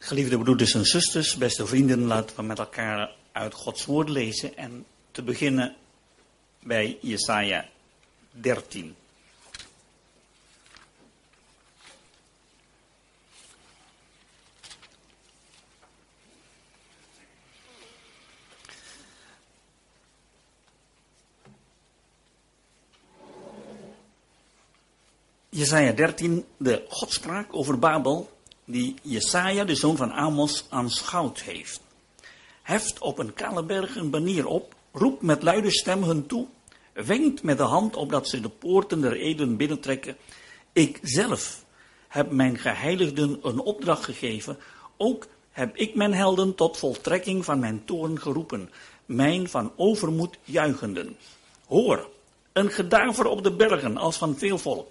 Geliefde broeders en zusters, beste vrienden, laten we met elkaar uit Gods woord lezen en te beginnen bij Jesaja 13. Jesaja 13, de godspraak over Babel, die Jesaja, de zoon van Amos, aanschouwd heeft. Heft op een kale berg een banier op, roept met luide stem hun toe, wenkt met de hand opdat ze de poorten der eden binnentrekken. Ik zelf heb mijn geheiligden een opdracht gegeven, ook heb ik mijn helden tot voltrekking van mijn toorn geroepen, mijn van overmoed juichenden. Hoor, een gedaver op de bergen als van veel volk.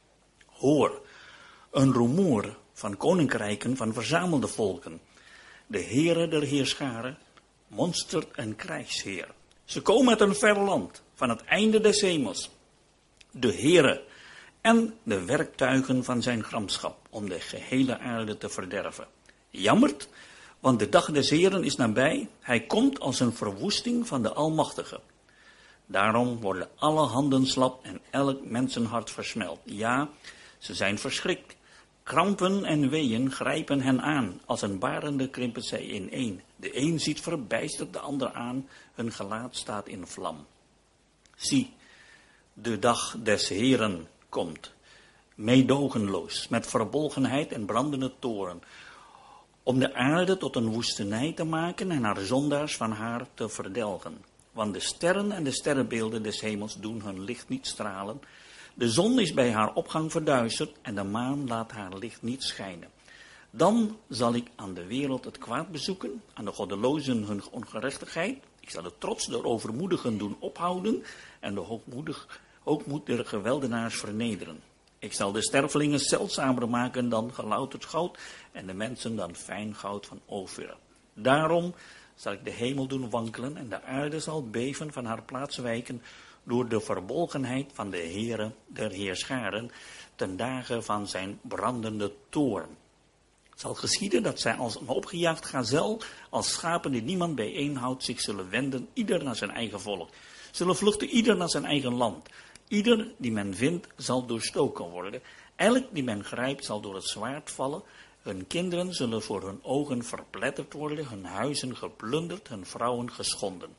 Hoor, een rumoer van koninkrijken, van verzamelde volken. De Heere der heerscharen, monstert een krijgsheer. Ze komen uit een ver land, van het einde des hemels. De Heere en de werktuigen van zijn gramschap, om de gehele aarde te verderven. Jammert, want de dag des Heeren is nabij. Hij komt als een verwoesting van de Almachtige. Daarom worden alle handen slap en elk mensenhart versmelt. Ja, ze zijn verschrikt. Krampen en weeën grijpen hen aan. Als een barende krimpen zij ineen. De een ziet verbijsterd de ander aan. Hun gelaat staat in vlam. Zie, de dag des Heeren komt. Meedogenloos, met verbolgenheid en brandende toorn. Om de aarde tot een woestenij te maken en haar zondaars van haar te verdelgen. Want de sterren en de sterrenbeelden des hemels doen hun licht niet stralen. De zon is bij haar opgang verduisterd en de maan laat haar licht niet schijnen. Dan zal ik aan de wereld het kwaad bezoeken, aan de goddelozen hun ongerechtigheid. Ik zal de trots der overmoedigen doen ophouden en de hoogmoed der geweldenaars vernederen. Ik zal de stervelingen zeldzamer maken dan gelouterd goud en de mensen dan fijn goud van Ofir. Daarom zal ik de hemel doen wankelen en de aarde zal beven van haar plaats wijken, door de verbolgenheid van de Heere der heerscharen, ten dagen van zijn brandende toorn. Het zal geschieden dat zij als een opgejaagd gazel, als schapen die niemand bijeenhoudt, zich zullen wenden, ieder naar zijn eigen volk. Zullen vluchten ieder naar zijn eigen land. Ieder die men vindt, zal doorstoken worden. Elk die men grijpt, zal door het zwaard vallen. Hun kinderen zullen voor hun ogen verpletterd worden, hun huizen geplunderd, hun vrouwen geschonden.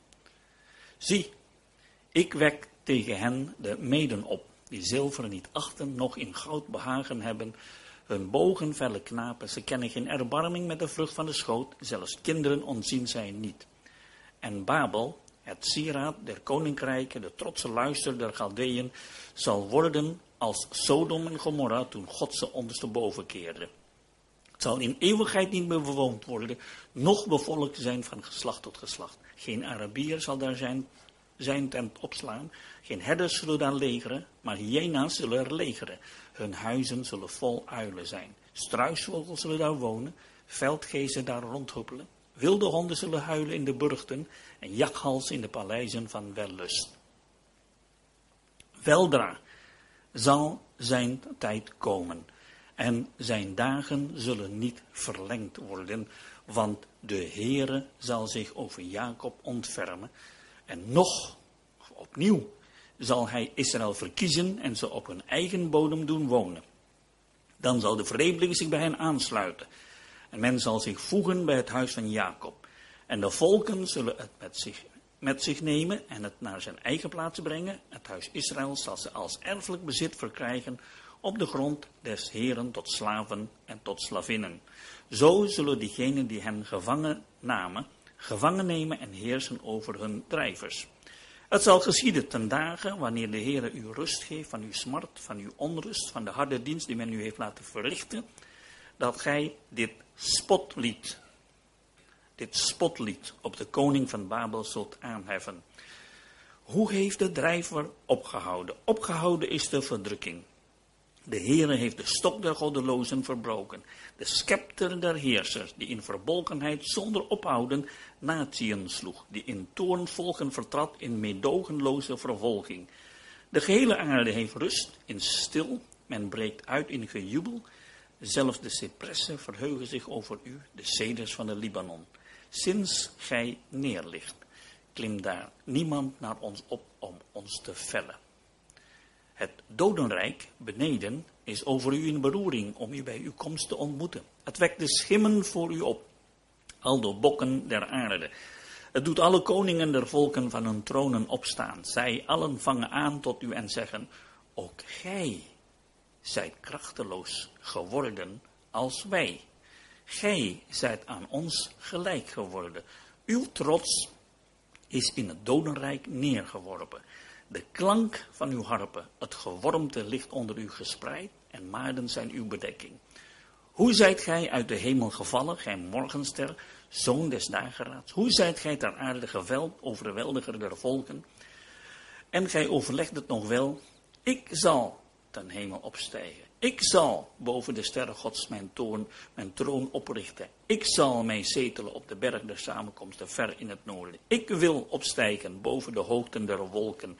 Zie, ik wek tegen hen de meden op, die zilver niet achten, nog in goud behagen hebben. Hun bogen felle knapen, ze kennen geen erbarming met de vrucht van de schoot, zelfs kinderen ontzien zij niet. En Babel, het sieraad der koninkrijken, de trotse luister der Galdeën, zal worden als Sodom en Gomorra toen God ze ondersteboven keerde. Het zal in eeuwigheid niet meer bewoond worden, noch bevolkt zijn van geslacht tot geslacht. Geen Arabier zal daar zijn tent opslaan. Geen herders zullen daar legeren, maar hyena's zullen er legeren. Hun huizen zullen vol uilen zijn. Struisvogels zullen daar wonen, veldgeesten daar rondhuppelen. Wilde honden zullen huilen in de burchten en jakhals in de paleizen van wellust. Weldra zal zijn tijd komen en zijn dagen zullen niet verlengd worden, want de Heere zal zich over Jacob ontfermen. En nog, opnieuw, zal hij Israël verkiezen en ze op hun eigen bodem doen wonen. Dan zal de vreemdeling zich bij hen aansluiten. En men zal zich voegen bij het huis van Jacob. En de volken zullen het met zich nemen en het naar zijn eigen plaats brengen. Het huis Israël zal ze als erfelijk bezit verkrijgen op de grond des Heeren tot slaven en tot slavinnen. Zo zullen diegenen die hen gevangen nemen en heersen over hun drijvers. Het zal geschieden ten dagen, wanneer de Heere u rust geeft van uw smart, van uw onrust, van de harde dienst die men u heeft laten verrichten, dat gij dit spotlied op de koning van Babel zult aanheffen. Hoe heeft de drijver opgehouden? Opgehouden is de verdrukking. De Heere heeft de stok der goddelozen verbroken, de scepter der heersers, die in verbolgenheid zonder ophouden natieën sloeg, die in toorn volken vertrad in meedogenloze vervolging. De gehele aarde heeft rust in stil, men breekt uit in gejubel Zelfs de cipressen verheugen zich over u, de ceders van de Libanon. Sinds gij neerligt, klimt daar niemand naar ons op om ons te vellen. Het dodenrijk beneden is over u in beroering om u bij uw komst te ontmoeten. Het wekt de schimmen voor u op, al de bokken der aarde. Het doet alle koningen der volken van hun tronen opstaan. Zij allen vangen aan tot u en zeggen, ook gij zijt krachteloos geworden als wij. Gij zijt aan ons gelijk geworden. Uw trots is in het dodenrijk neergeworpen. De klank van uw harpen, het gewormte ligt onder u gespreid en maarden zijn uw bedekking. Hoe zijt gij uit de hemel gevallen, gij morgenster, zoon des dageraads? Hoe zijt gij ter aarde geveld, overweldiger der volken? En gij overlegt het nog wel, ik zal ten hemel opstijgen. Ik zal boven de sterren Gods mijn troon oprichten. Ik zal mij zetelen op de berg der samenkomsten ver in het noorden. Ik wil opstijgen boven de hoogten der wolken.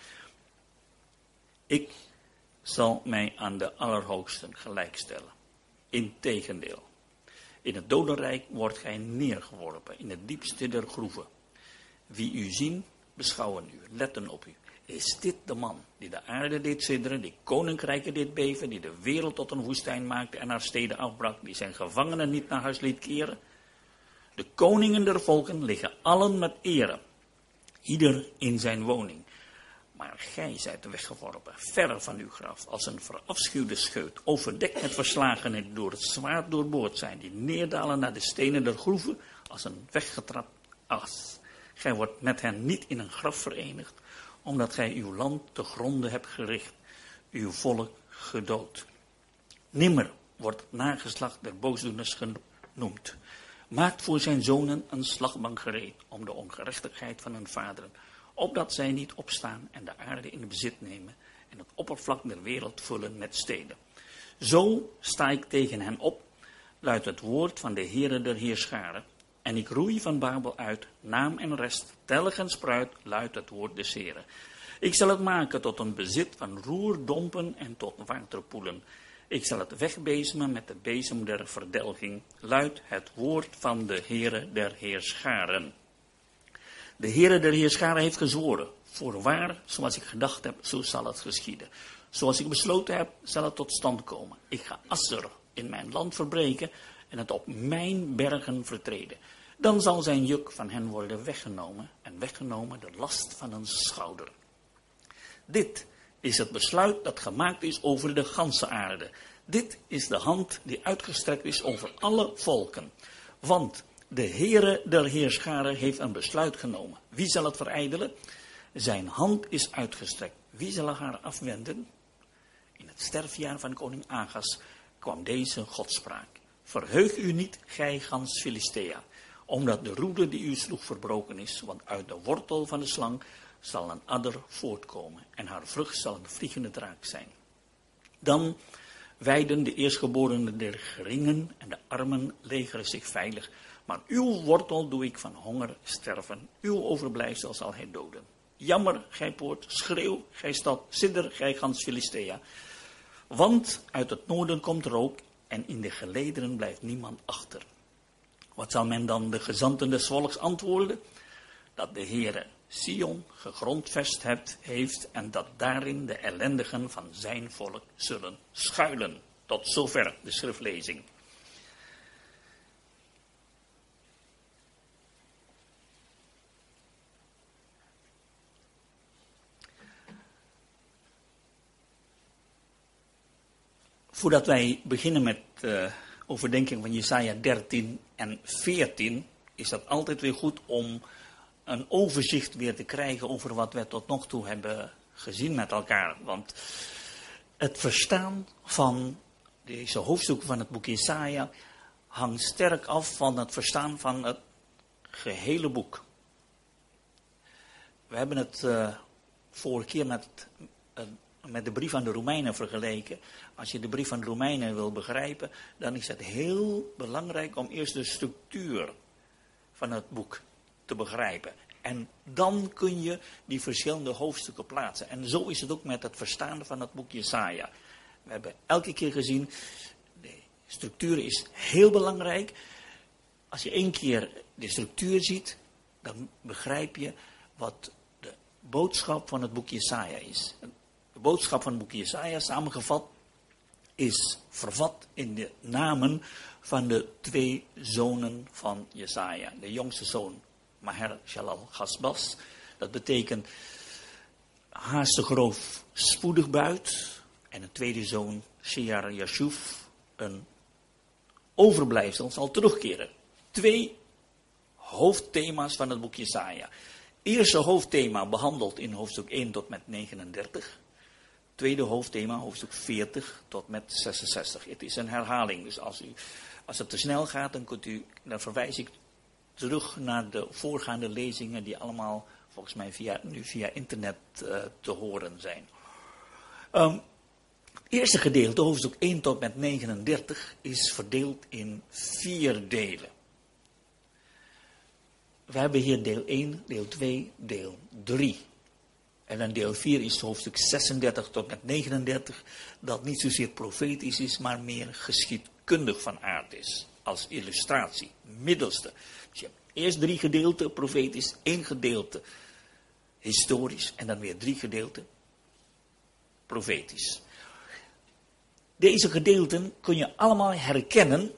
Ik zal mij aan de Allerhoogsten gelijkstellen. Integendeel, in het dodenrijk wordt gij neergeworpen, in het diepste der groeven. Wie u zien, beschouwen u, letten op u. Is dit de man die de aarde deed sidderen, die koninkrijken deed beven, die de wereld tot een woestijn maakte en haar steden afbrak, die zijn gevangenen niet naar huis liet keren? De koningen der volken liggen allen met ere, ieder in zijn woning. Maar gij zijt weggeworpen, ver van uw graf, als een verafschuwde scheut, overdekt met verslagenen die door het zwaard doorboord zijn, die neerdalen naar de stenen der groeven, als een weggetrapt as. Gij wordt met hen niet in een graf verenigd, omdat gij uw land te gronde hebt gericht, uw volk gedood. Nimmer wordt het nageslacht der boosdoeners genoemd. Maakt voor zijn zonen een slagbank gereed, om de ongerechtigheid van hun vaderen, opdat zij niet opstaan en de aarde in bezit nemen en het oppervlak der wereld vullen met steden. Zo sta ik tegen hen op, luidt het woord van de Heere der Heerscharen, en ik roei van Babel uit, naam en rest, telg en spruit, luidt het woord des Heeren. Ik zal het maken tot een bezit van roerdompen en tot waterpoelen. Ik zal het wegbezemen met de bezem der verdelging, luidt het woord van de Heere der Heerscharen. De Heere der Heerscharen heeft gezworen, voorwaar, zoals ik gedacht heb, zo zal het geschieden. Zoals ik besloten heb, zal het tot stand komen. Ik ga Asser in mijn land verbreken en het op mijn bergen vertreden. Dan zal zijn juk van hen worden weggenomen en weggenomen de last van een schouder. Dit is het besluit dat gemaakt is over de ganse aarde. Dit is de hand die uitgestrekt is over alle volken. Want de Heere der Heerscharen heeft een besluit genomen. Wie zal het verijdelen? Zijn hand is uitgestrekt. Wie zal haar afwenden? In het sterfjaar van koning Agas kwam deze godspraak. Verheug u niet, gij gans Filistea, omdat de roede die u sloeg verbroken is, want uit de wortel van de slang zal een adder voortkomen en haar vrucht zal een vliegende draak zijn. Dan weiden de eerstgeborenen der geringen en de armen legeren zich veilig, maar uw wortel doe ik van honger sterven, uw overblijfsel zal hij doden. Jammer, gij poort, schreeuw, gij stad, sidder, gij gans Filistea, want uit het noorden komt rook en in de gelederen blijft niemand achter. Wat zal men dan de gezanten des volks antwoorden? Dat de Heere Sion gegrondvest heeft en dat daarin de ellendigen van zijn volk zullen schuilen. Tot zover de schriftlezing. Voordat wij beginnen met overdenking van Jesaja 13 en 14, is dat altijd weer goed om een overzicht weer te krijgen over wat we tot nog toe hebben gezien met elkaar. Want het verstaan van deze hoofdstukken van het boek Jesaja hangt sterk af van het verstaan van het gehele boek. We hebben het vorige keer met de brief aan de Romeinen vergeleken. Als je de brief aan de Romeinen wil begrijpen, dan is het heel belangrijk om eerst de structuur van het boek te begrijpen. En dan kun je die verschillende hoofdstukken plaatsen. En zo is het ook met het verstaan van het boek Jesaja. We hebben elke keer gezien, de Structuur is heel belangrijk. Als je 1 keer de structuur ziet, dan begrijp je wat de boodschap van het boek Jesaja is. De boodschap van het boek Jesaja, samengevat, is vervat in de namen van de 2 zonen van Jesaja. De jongste zoon, Maher Shalal Hasbaz. Dat betekent haastig roof, spoedig buit. En een tweede zoon, Shear Yashuf, een overblijfsel, zal terugkeren. 2 hoofdthema's van het boek Jesaja. Eerste hoofdthema behandeld in hoofdstuk 1 tot met 39. Tweede hoofdthema, hoofdstuk 40 tot met 66. Het is een herhaling, dus als het te snel gaat, dan verwijs ik terug naar de voorgaande lezingen die allemaal volgens mij nu via internet te horen zijn. Het eerste gedeelte, hoofdstuk 1 tot met 39, is verdeeld in 4 delen. We hebben hier deel 1, deel 2, deel 3. En dan deel 4 is hoofdstuk 36 tot met 39, dat niet zozeer profetisch is, maar meer geschiedkundig van aard is. Als illustratie, middelste. Dus je hebt eerst 3 gedeelten profetisch, 1 gedeelte historisch en dan weer 3 gedeelten profetisch. Deze gedeelten kun je allemaal herkennen.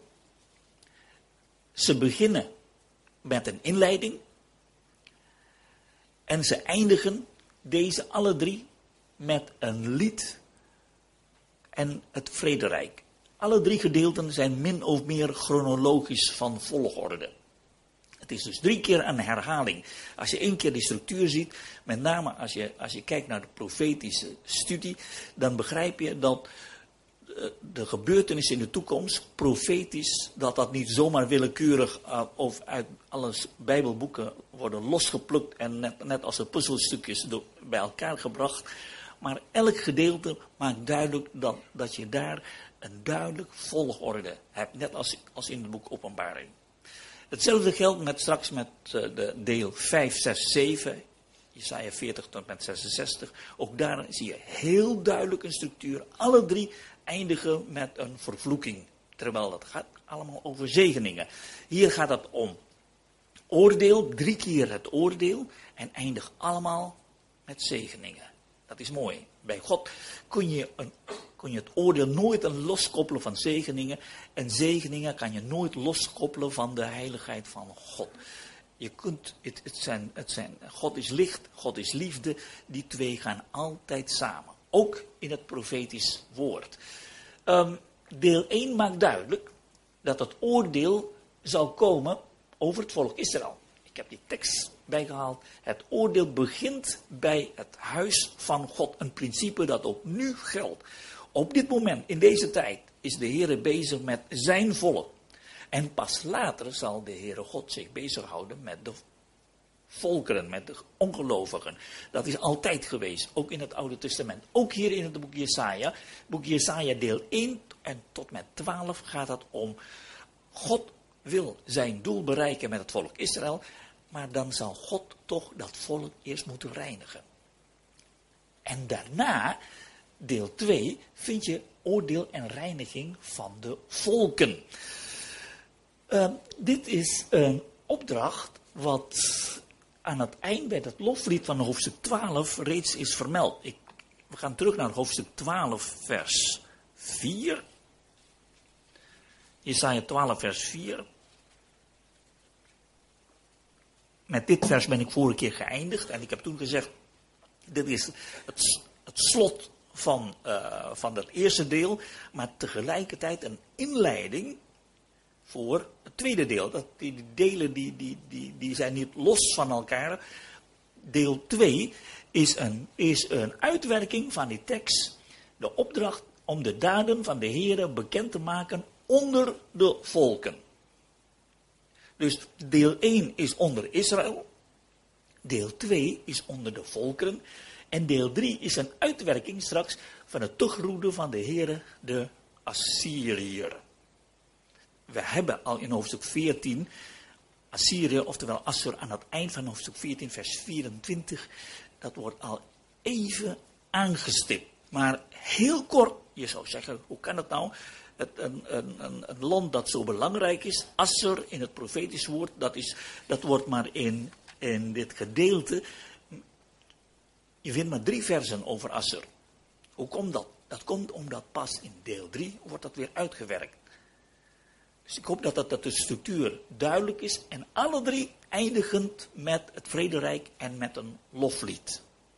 Ze beginnen met een inleiding en ze eindigen deze alle 3 met een lied en het vrederijk. Alle 3 gedeelten zijn min of meer chronologisch van volgorde. Het is dus 3 keer een herhaling. Als je 1 keer die structuur ziet, met name als je kijkt naar de profetische studie, dan begrijp je dat de gebeurtenissen in de toekomst, profetisch, dat niet zomaar willekeurig of uit alle Bijbelboeken worden losgeplukt en net als de puzzelstukjes bij elkaar gebracht. Maar elk gedeelte maakt duidelijk dat je daar een duidelijk volgorde hebt, net als in het boek Openbaring. Hetzelfde geldt straks met de deel 5, 6, 7, Jesaja 40 tot met 66. Ook daar zie je heel duidelijk een structuur. Alle 3 eindigen met een vervloeking. Terwijl het gaat allemaal over zegeningen. Hier gaat het om oordeel, 3 keer het oordeel. En eindigt allemaal met zegeningen. Dat is mooi. Bij God kun je het oordeel nooit loskoppelen van zegeningen. En zegeningen kan je nooit loskoppelen van de heiligheid van God. Je kunt, God is licht, God is liefde. Die 2 gaan altijd samen. Ook in het profetisch woord. Deel 1 maakt duidelijk dat het oordeel zal komen over het volk Israël. Ik heb die tekst bijgehaald. Het oordeel begint bij het huis van God. Een principe dat ook nu geldt. Op dit moment, in deze tijd, is de Heere bezig met zijn volk. En pas later zal de Heere God zich bezighouden met de volkeren, met de ongelovigen. Dat is altijd geweest, ook in het Oude Testament. Ook hier in het boek Jesaja. Boek Jesaja deel 1 en tot met 12 gaat het om God wil zijn doel bereiken met het volk Israël. Maar dan zal God toch dat volk eerst moeten reinigen. En daarna, deel 2, vind je oordeel en reiniging van de volken. Dit is een opdracht wat aan het eind bij het loflied van hoofdstuk 12 reeds is vermeld. We gaan terug naar hoofdstuk 12 vers 4. Jesaja 12 vers 4. Met dit vers ben ik vorige keer geëindigd. En ik heb toen gezegd, dit is het slot van dat eerste deel. Maar tegelijkertijd een inleiding voor het tweede deel. Die delen die zijn niet los van elkaar. Deel 2 is een uitwerking van die tekst. De opdracht om de daden van de Heere bekend te maken onder de volken. Dus deel 1 is onder Israël. Deel 2 is onder de volkeren. En deel 3 is een uitwerking straks van het terugroepen van de Heere, de Assyriër. We hebben al in hoofdstuk 14 Assyrië, oftewel Assur, aan het eind van hoofdstuk 14, vers 24. Dat wordt al even aangestipt. Maar heel kort, je zou zeggen, hoe kan het nou? een land dat zo belangrijk is. Asser in het profetisch woord, dat wordt maar in dit gedeelte. Je vindt maar 3 versen over Asser. Hoe komt dat? Dat komt omdat pas in deel 3 wordt dat weer uitgewerkt. Dus ik hoop dat de structuur duidelijk is. En alle 3 eindigend met het vrederijk en met een loflied.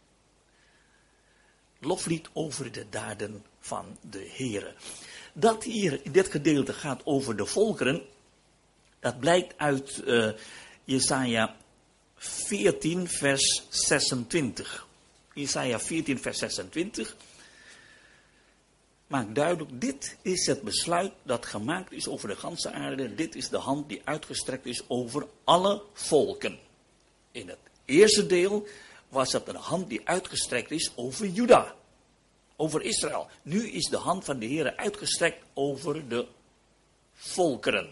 Loflied over de daden van de Heere. Dat hier in dit gedeelte gaat over de volkeren. Dat blijkt uit Jesaja 14 vers 26. Jesaja 14 vers 26. Maakt duidelijk, dit is het besluit dat gemaakt is over de ganse aarde. Dit is de hand die uitgestrekt is over alle volken. In het eerste deel was het een hand die uitgestrekt is over Juda. Over Israël. Nu is de hand van de Heere uitgestrekt over de volkeren.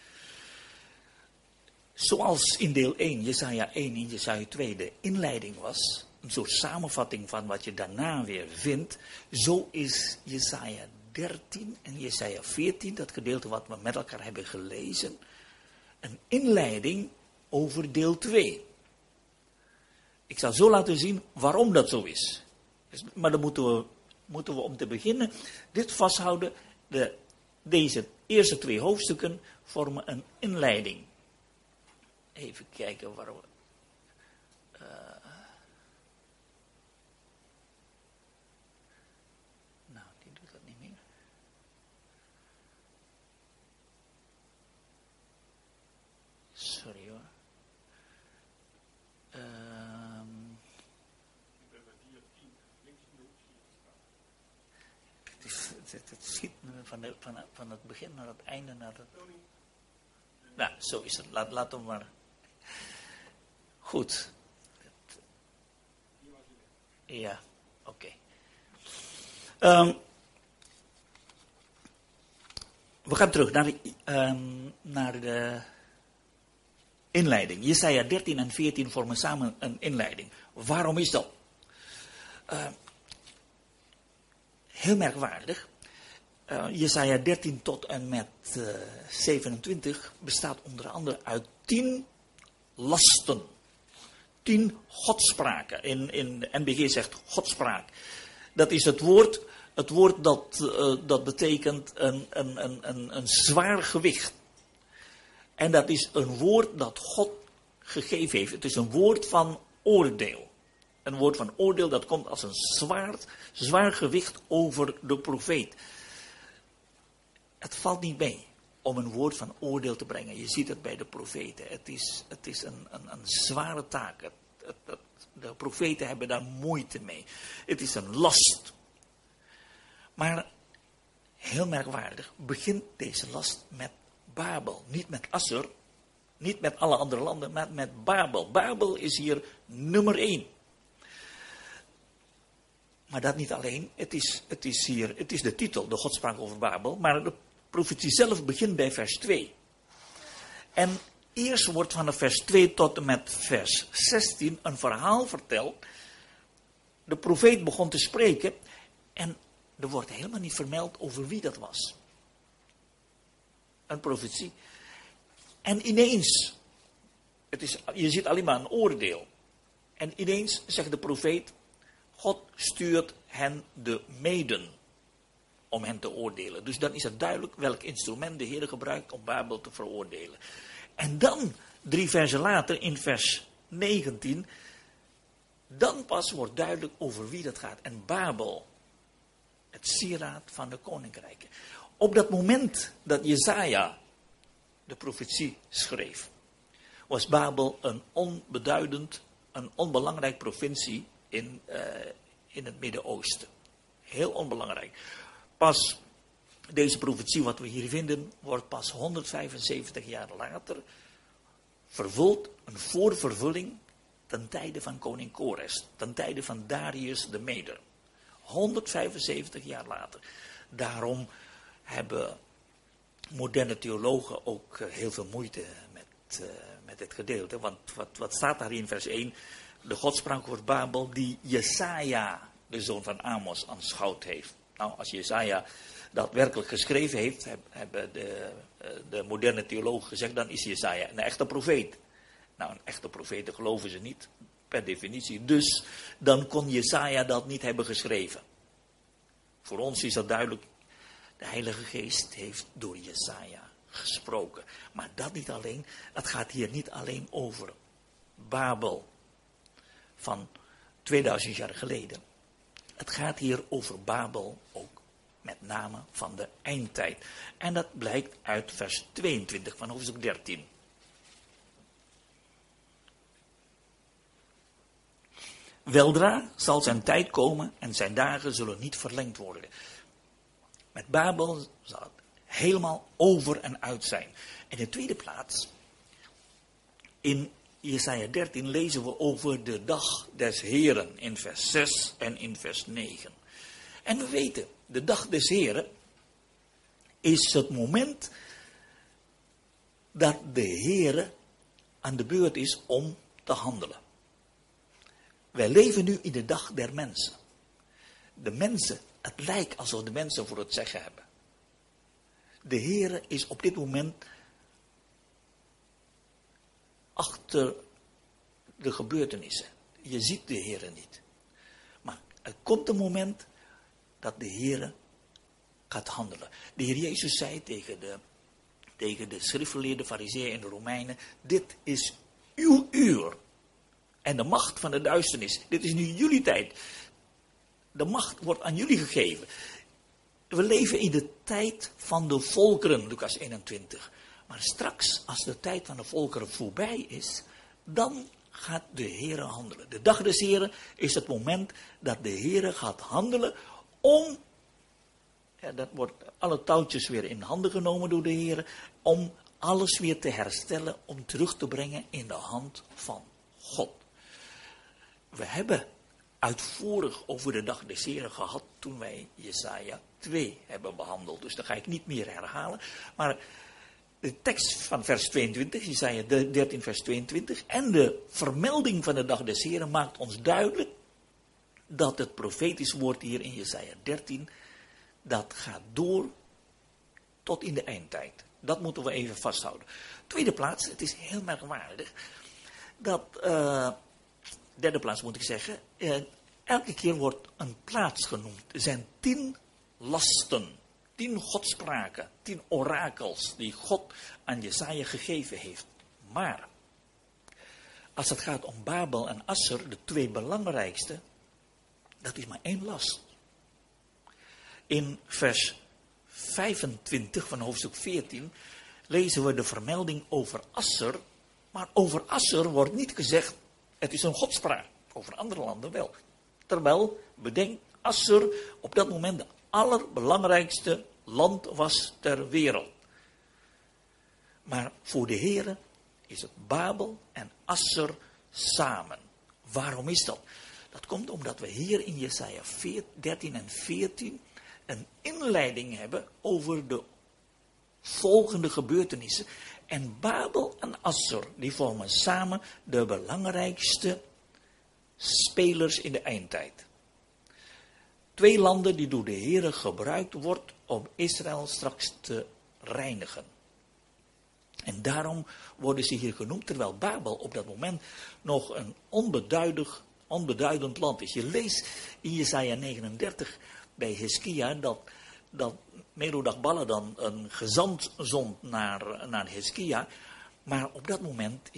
Zoals in deel 1, Jesaja 1 en Jesaja 2 de inleiding was. Een soort samenvatting van wat je daarna weer vindt. Zo is Jesaja 13 en Jesaja 14, dat gedeelte wat we met elkaar hebben gelezen. Een inleiding over deel 2. Ik zal zo laten zien waarom dat zo is. Maar dan moeten we om te beginnen dit vasthouden. Deze eerste 2 hoofdstukken vormen een inleiding. Even kijken waar we... Nou, die doet dat niet meer. Sorry hoor. Het schiet van het begin naar het einde. Nou, zo is het. Laten we maar... Goed. Ja, oké. We gaan terug naar de inleiding. Jesaja 13 en 14 vormen samen een inleiding. Waarom is dat? Heel merkwaardig. Jesaja 13 tot en met 27 bestaat onder andere uit 10 lasten. 10 godspraken. In de NBG zegt godspraak. Dat is het woord dat betekent een zwaar gewicht. En dat is een woord dat God gegeven heeft. Het is een woord van oordeel. Een woord van oordeel dat komt als een zwaar gewicht over de profeet. Het valt niet mee om een woord van oordeel te brengen. Je ziet het bij de profeten. Het is een zware taak. De profeten hebben daar moeite mee. Het is een last. Maar heel merkwaardig begint deze last met Babel. Niet met Asser, niet met alle andere landen, maar met Babel. Babel is hier nummer 1. Maar dat niet alleen. Het is de titel, de godspraak over Babel. Maar de profetie zelf begint bij vers 2. En eerst wordt vanaf vers 2 tot en met vers 16 een verhaal verteld. De profeet begon te spreken en er wordt helemaal niet vermeld over wie dat was. Een profetie. En ineens, je ziet alleen maar een oordeel. En ineens zegt de profeet, God stuurt hen de meden om hen te oordelen. Dus dan is het duidelijk welk instrument de Heer gebruikt om Babel te veroordelen. En dan, 3 versen later, in vers 19, dan pas wordt duidelijk over wie dat gaat. En Babel, het sieraad van de koninkrijken. Op dat moment dat Jesaja de profetie schreef, was Babel een onbeduidend, een onbelangrijk provincie in het Midden-Oosten. Heel onbelangrijk. Pas deze profetie wat we hier vinden, wordt pas 175 jaar later vervuld, een voorvervulling ten tijde van koning Kores, ten tijde van Darius de Meder. 175 jaar later. Daarom hebben moderne theologen ook heel veel moeite met dit gedeelte. Want wat staat daar in vers 1? De godspraak over Babel die Jesaja, de zoon van Amos, aanschouwd heeft. Nou, als Jesaja dat werkelijk geschreven heeft, hebben de moderne theologen gezegd, dan is Jesaja een echte profeet. Nou, een echte profeet geloven ze niet, per definitie. Dus dan kon Jesaja dat niet hebben geschreven. Voor ons is dat duidelijk. De Heilige Geest heeft door Jesaja gesproken. Maar dat niet alleen. Het gaat hier niet alleen over Babel van 2000 jaar geleden. Het gaat hier over Babel ook met name van de eindtijd. En dat blijkt uit vers 22 van hoofdstuk 13. Weldra zal zijn tijd komen en zijn dagen zullen niet verlengd worden. Met Babel zal het helemaal over en uit zijn. En in de tweede plaats, in Jesaja 13 lezen we over de dag des Heren in vers 6 en in vers 9. En we weten, de dag des Heren is het moment dat de Heere aan de beurt is om te handelen. Wij leven nu in de dag der mensen. De mensen, het lijkt alsof de mensen voor het zeggen hebben. De Heere is op dit moment achter de gebeurtenissen. Je ziet de Heere niet. Maar er komt een moment dat de Heere gaat handelen. De Heer Jezus zei tegen de schriftgeleerden, farizeeën en de Romeinen, dit is uw uur. En de macht van de duisternis, dit is nu jullie tijd. De macht wordt aan jullie gegeven. We leven in de tijd van de volkeren, Lucas 21. Maar straks, als de tijd van de volkeren voorbij is, dan gaat de Heere handelen. De dag des Heren is het moment dat de Heere gaat handelen om, dat wordt alle touwtjes weer in handen genomen door de Heere, om alles weer te herstellen, om terug te brengen in de hand van God. We hebben uitvoerig over de dag des Heren gehad toen wij Jesaja 2 hebben behandeld. Dus dat ga ik niet meer herhalen. Maar de tekst van vers 22, Jesaja 13 vers 22, en de vermelding van de dag des Heren maakt ons duidelijk dat het profetisch woord hier in Jesaja 13, dat gaat door tot in de eindtijd. Dat moeten we even vasthouden. Tweede plaats, het is heel merkwaardig dat, derde plaats moet ik zeggen, elke keer wordt een plaats genoemd. Er zijn 10 lasten, 10 godspraken, 10 orakels die God aan Jesaja gegeven heeft. Maar als het gaat om Babel en Assur, de 2 belangrijkste, dat is maar 1 last. In vers 25 van hoofdstuk 14 lezen we de vermelding over Assur, maar over Assur wordt niet gezegd, het is een godspraak. Over andere landen wel. Terwijl, bedenk, Assur op dat moment de allerbelangrijkste land was ter wereld. Maar voor de Heere is het Babel en Assur samen. Waarom is dat? Dat komt omdat we hier in Jesaja 13 en 14 een inleiding hebben over de volgende gebeurtenissen. En Babel en Assur, die vormen samen de belangrijkste spelers in de eindtijd. 2 landen die door de Heere gebruikt wordt om Israël straks te reinigen. En daarom worden ze hier genoemd, terwijl Babel op dat moment nog een onbeduidend land is. Je leest in Jesaja 39 bij Hizkia dat Merodach-Baladan een gezant zond naar Hizkia. Maar op dat moment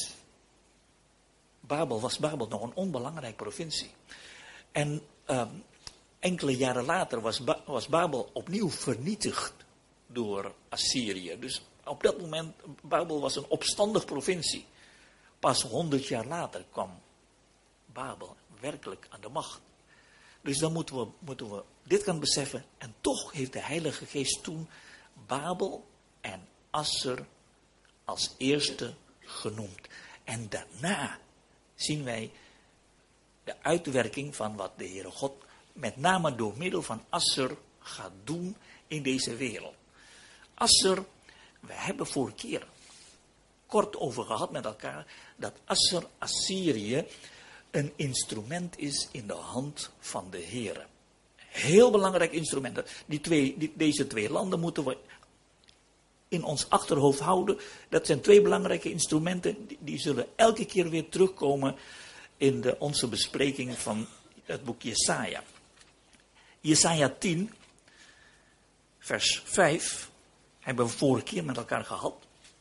was Babel nog een onbelangrijke provincie. En enkele jaren later was Babel opnieuw vernietigd door Assyrië. Dus op dat moment, Babel was een opstandige provincie. Pas 100 jaar later kwam Babel werkelijk aan de macht. Dus dan moeten we dit gaan beseffen. En toch heeft de Heilige Geest toen Babel en Assur als eerste genoemd. En daarna zien wij de uitwerking van wat de Heere God met name door middel van Assur gaat doen in deze wereld. Assur, we hebben vorige keer kort over gehad met elkaar, dat Assyrië een instrument is in de hand van de Heere. Heel belangrijk instrument. Deze twee landen moeten we in ons achterhoofd houden. Dat zijn twee belangrijke instrumenten. Die zullen elke keer weer terugkomen in onze bespreking van het boek Jesaja. Jesaja 10, vers 5, hebben we vorige keer met elkaar gehad.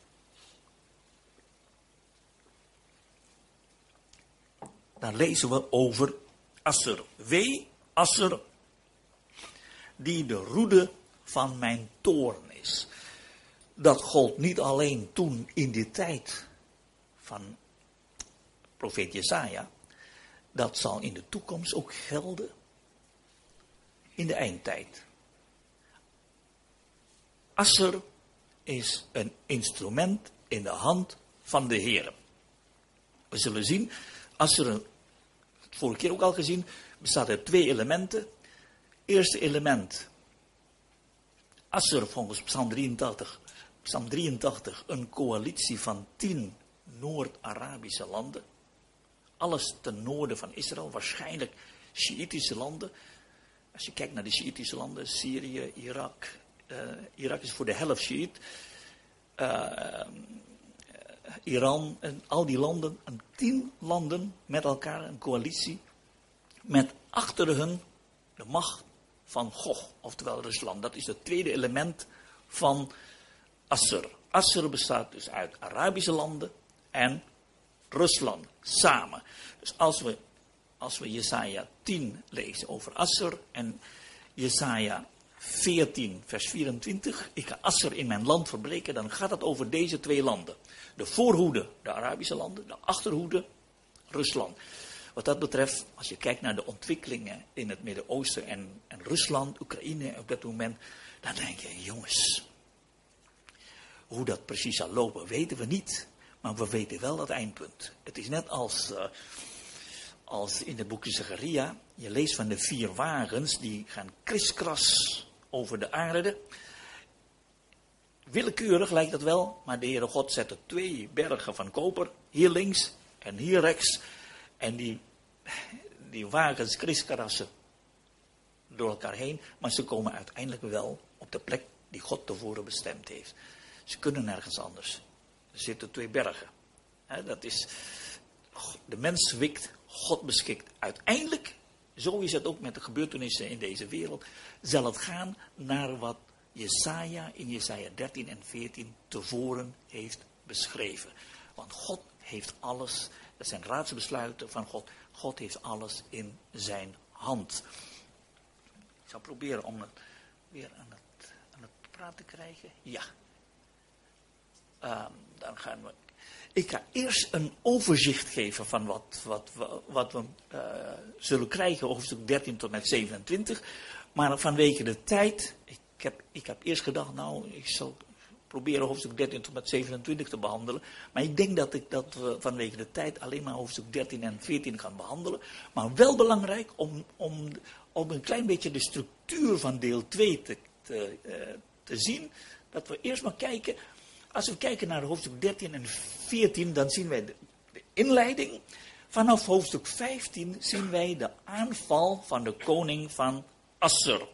Daar lezen we over Asser. Wee, Asser, die de roede van mijn toorn is. Dat gold niet alleen toen in die tijd van profeet Jesaja. Dat zal in de toekomst ook gelden in de eindtijd. Asser is een instrument in de hand van de Heer. We zullen zien, Asser, vorige keer ook al gezien, bestaat uit twee elementen. Eerste element, Asser volgens Psalm 83, een coalitie van 10 Noord-Arabische landen. Alles ten noorden van Israël, waarschijnlijk Sjiïtische landen. Als je kijkt naar de Sjiïtische landen, Syrië, Irak. Irak is voor de helft Sjiït. Iran en al die landen, 10 landen met elkaar, een coalitie. Met achter hun de macht van Gog, oftewel Rusland. Dat is het tweede element van Asser. Asser bestaat dus uit Arabische landen en Rusland samen. Dus als we Jesaja 10 lezen over Asser en Jesaja 14 vers 24, ik ga Asser in mijn land verbreken, dan gaat het over deze twee landen. De voorhoede, de Arabische landen, de achterhoede, Rusland. Wat dat betreft, als je kijkt naar de ontwikkelingen in het Midden-Oosten en Rusland, Oekraïne op dat moment, dan denk je, jongens, hoe dat precies zal lopen, weten we niet. Maar we weten wel dat eindpunt. Het is net als in het boekje Zacharia. Je leest van de 4 wagens die gaan kriskras over de aarde. Willekeurig lijkt dat wel, maar de Heere God zette 2 bergen van koper. Hier links en hier rechts. En die wagens kriskrassen door elkaar heen. Maar ze komen uiteindelijk wel op de plek die God tevoren bestemd heeft. Ze kunnen nergens anders. Er zitten 2 bergen. Dat is, de mens wikt, God beschikt. Uiteindelijk, zo is het ook met de gebeurtenissen in deze wereld, zal het gaan naar wat Jesaja in Jesaja 13 en 14 tevoren heeft beschreven. Want God heeft alles, dat zijn raadsbesluiten van God. God heeft alles in zijn hand. Ik zal proberen om het weer aan het praten te krijgen. Ja. Dan gaan we. Ik ga eerst een overzicht geven van wat we zullen krijgen, hoofdstuk 13 tot met 27. Maar vanwege de tijd, ik heb eerst gedacht, ik zal proberen hoofdstuk 13 tot met 27 te behandelen. Maar ik denk dat we vanwege de tijd alleen maar hoofdstuk 13 en 14 gaan behandelen. Maar wel belangrijk om een klein beetje de structuur van deel 2 te zien. Dat we eerst maar kijken. Als we kijken naar hoofdstuk 13 en 14, dan zien wij de inleiding. Vanaf hoofdstuk 15 zien wij de aanval van de koning van Asser.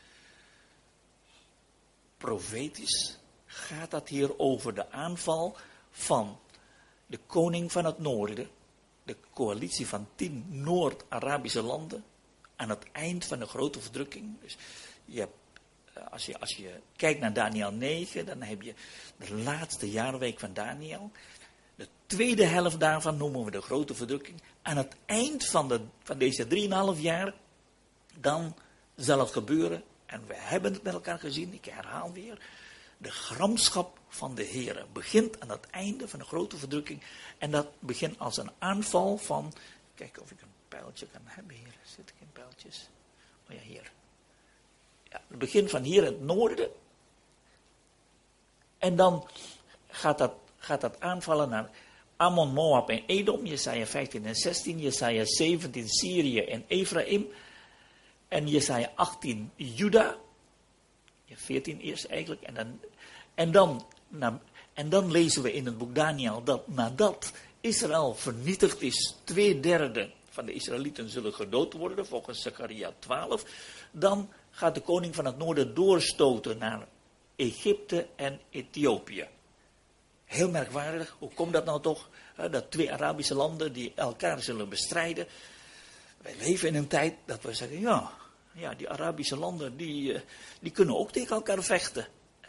Profetisch gaat dat hier over de aanval van de koning van het noorden. De coalitie van 10 Noord-Arabische landen. Aan het eind van de grote verdrukking. Dus je hebt, als je kijkt naar Daniel 9, dan heb je de laatste jaarweek van Daniel. De tweede helft daarvan noemen we de grote verdrukking. Aan het eind van deze 3,5 jaar, dan zal het gebeuren. En we hebben het met elkaar gezien, ik herhaal weer. De gramschap van de Heere begint aan het einde van de grote verdrukking. En dat begint als een aanval van, kijk of ik een pijltje kan hebben hier. Zit geen pijltjes? Oh ja, hier. Ja, het begint van hier in het noorden. En dan gaat dat aanvallen naar Ammon, Moab en Edom. Jesaja 15 en 16. Jesaja 17 Syrië en Ephraim. En Jesaja 18 Juda. 14 eerst eigenlijk. En dan lezen we in het boek Daniel dat nadat Israël vernietigd is, 2/3 van de Israëlieten zullen gedood worden, volgens Zechariah 12. Dan gaat de koning van het noorden doorstoten naar Egypte en Ethiopië. Heel merkwaardig, hoe komt dat nou toch? Dat twee Arabische landen die elkaar zullen bestrijden. Wij leven in een tijd dat we zeggen, ja, die Arabische landen die kunnen ook tegen elkaar vechten.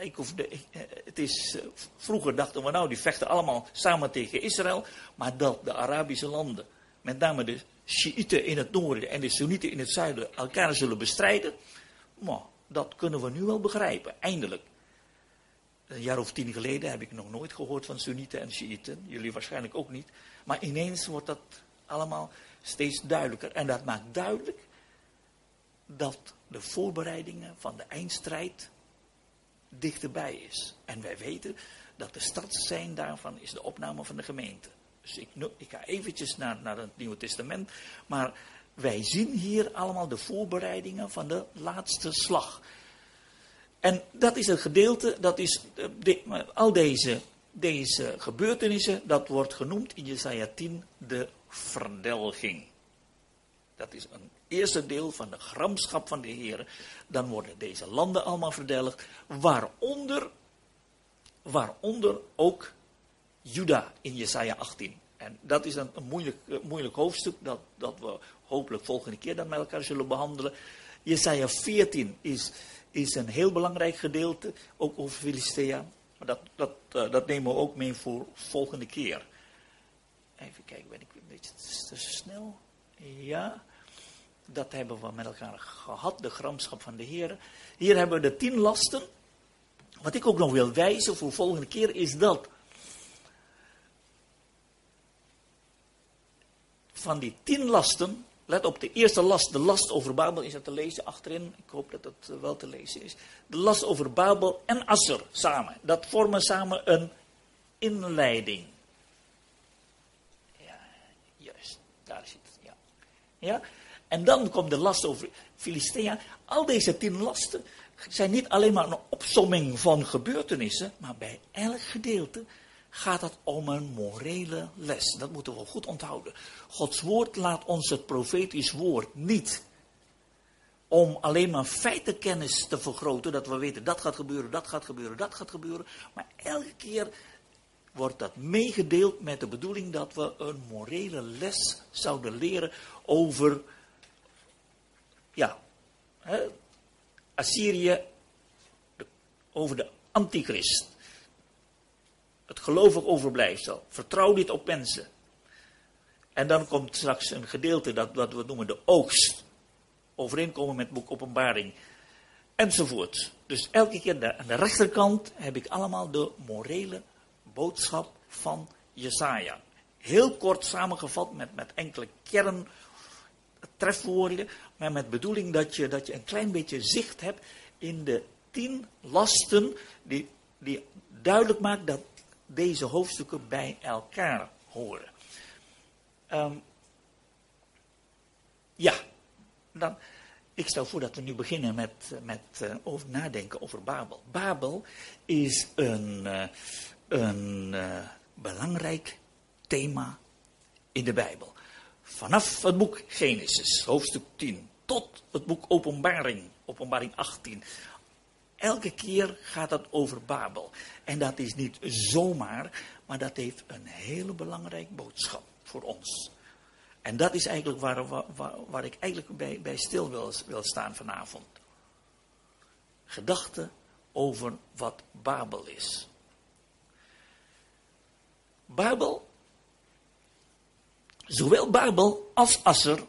Vroeger dachten we die vechten allemaal samen tegen Israël. Maar dat de Arabische landen, met name de Sjiïten in het noorden en de Soenieten in het zuiden, elkaar zullen bestrijden. Dat kunnen we nu wel begrijpen, eindelijk. Een jaar of 10 geleden heb ik nog nooit gehoord van Soenieten en Sjiïten. Jullie waarschijnlijk ook niet. Maar ineens wordt dat allemaal steeds duidelijker. En dat maakt duidelijk dat de voorbereidingen van de eindstrijd dichterbij is. En wij weten dat de startsein daarvan is de opname van de gemeente. Dus ik ga eventjes naar het Nieuwe Testament. Maar wij zien hier allemaal de voorbereidingen van de laatste slag. En dat is het gedeelte, dat is al deze gebeurtenissen, dat wordt genoemd in Jesaja 10 de verdelging. Dat is een eerste deel van de gramschap van de Heer. Dan worden deze landen allemaal verdelgd, waaronder ook Juda in Jesaja 18. En dat is een moeilijk hoofdstuk dat we hopelijk volgende keer dan met elkaar zullen behandelen. Jesaja 14 is een heel belangrijk gedeelte, ook over Filistea. Maar dat nemen we ook mee voor volgende keer. Even kijken, ben ik een beetje te snel? Ja, dat hebben we met elkaar gehad, de gramschap van de Heer. Hier hebben we de 10 lasten. Wat ik ook nog wil wijzen voor volgende keer is dat van die 10 lasten, let op de eerste last, de last over Babel, is dat te lezen achterin? Ik hoop dat het wel te lezen is. De last over Babel en Asser samen, dat vormen samen een inleiding. Ja, juist, daar zit het, ja. Ja? En dan komt de last over Filistea. Al deze 10 lasten zijn niet alleen maar een opsomming van gebeurtenissen, maar bij elk gedeelte gaat het om een morele les. Dat moeten we goed onthouden. Gods woord laat ons het profetisch woord niet om alleen maar feitenkennis te vergroten, dat we weten dat gaat gebeuren, dat gaat gebeuren, dat gaat gebeuren. Maar elke keer wordt dat meegedeeld met de bedoeling dat we een morele les zouden leren over Assyrië, over de antichrist. Het gelovig overblijfsel. Vertrouw dit op mensen. En dan komt straks een gedeelte dat we noemen de oogst. Overeenkomen met het boek Openbaring. Enzovoort. Dus elke keer aan de rechterkant heb ik allemaal de morele boodschap van Jesaja. Heel kort samengevat met enkele trefwoorden. Maar met bedoeling dat je een klein beetje zicht hebt in de 10 lasten die duidelijk maakt dat deze hoofdstukken bij elkaar horen. Ik stel voor dat we nu beginnen met over nadenken over Babel. Babel is een belangrijk thema in de Bijbel. Vanaf het boek Genesis, hoofdstuk 10, tot het boek Openbaring 18. Elke keer gaat het over Babel. En dat is niet zomaar, maar dat heeft een hele belangrijke boodschap voor ons. En dat is eigenlijk waar ik eigenlijk bij stil wil staan vanavond. Gedachten over wat Babel is. Babel, zowel Babel als Asser,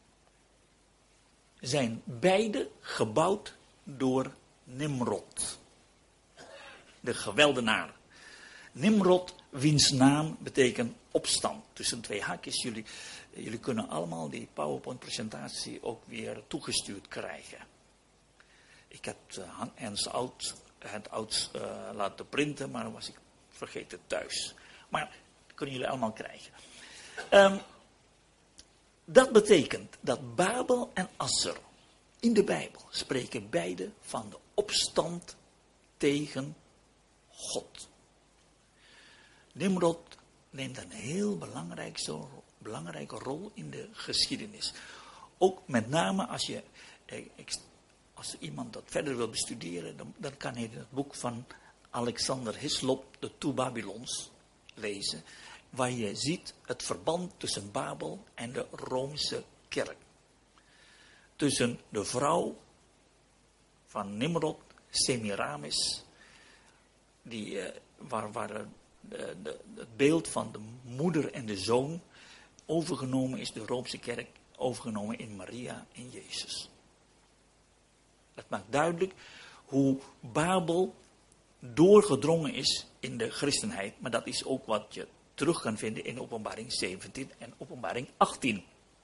zijn beide gebouwd door Nimrod, de geweldenaar. Nimrod, wiens naam betekent opstand. Tussen 2 haakjes, jullie kunnen allemaal die PowerPoint-presentatie ook weer toegestuurd krijgen. Ik heb Hans Ouds laten printen, maar was ik vergeten thuis. Maar dat kunnen jullie allemaal krijgen. Dat betekent dat Babel en Asser in de Bijbel spreken beide van de opstand tegen God. neemt een heel belangrijke rol in de geschiedenis. Ook met name als iemand dat verder wil bestuderen, dan kan hij het boek van Alexander Hislop, de Two Babylons, lezen. Waar je ziet het verband tussen Babel en de Roomse kerk. Tussen de vrouw van Nimrod, Semiramis, waar het beeld van de moeder en de zoon overgenomen is, de Roomse kerk, overgenomen in Maria en Jezus. Het maakt duidelijk hoe Babel doorgedrongen is in de christenheid, maar dat is ook wat je terug kan vinden in Openbaring 17 en Openbaring 18.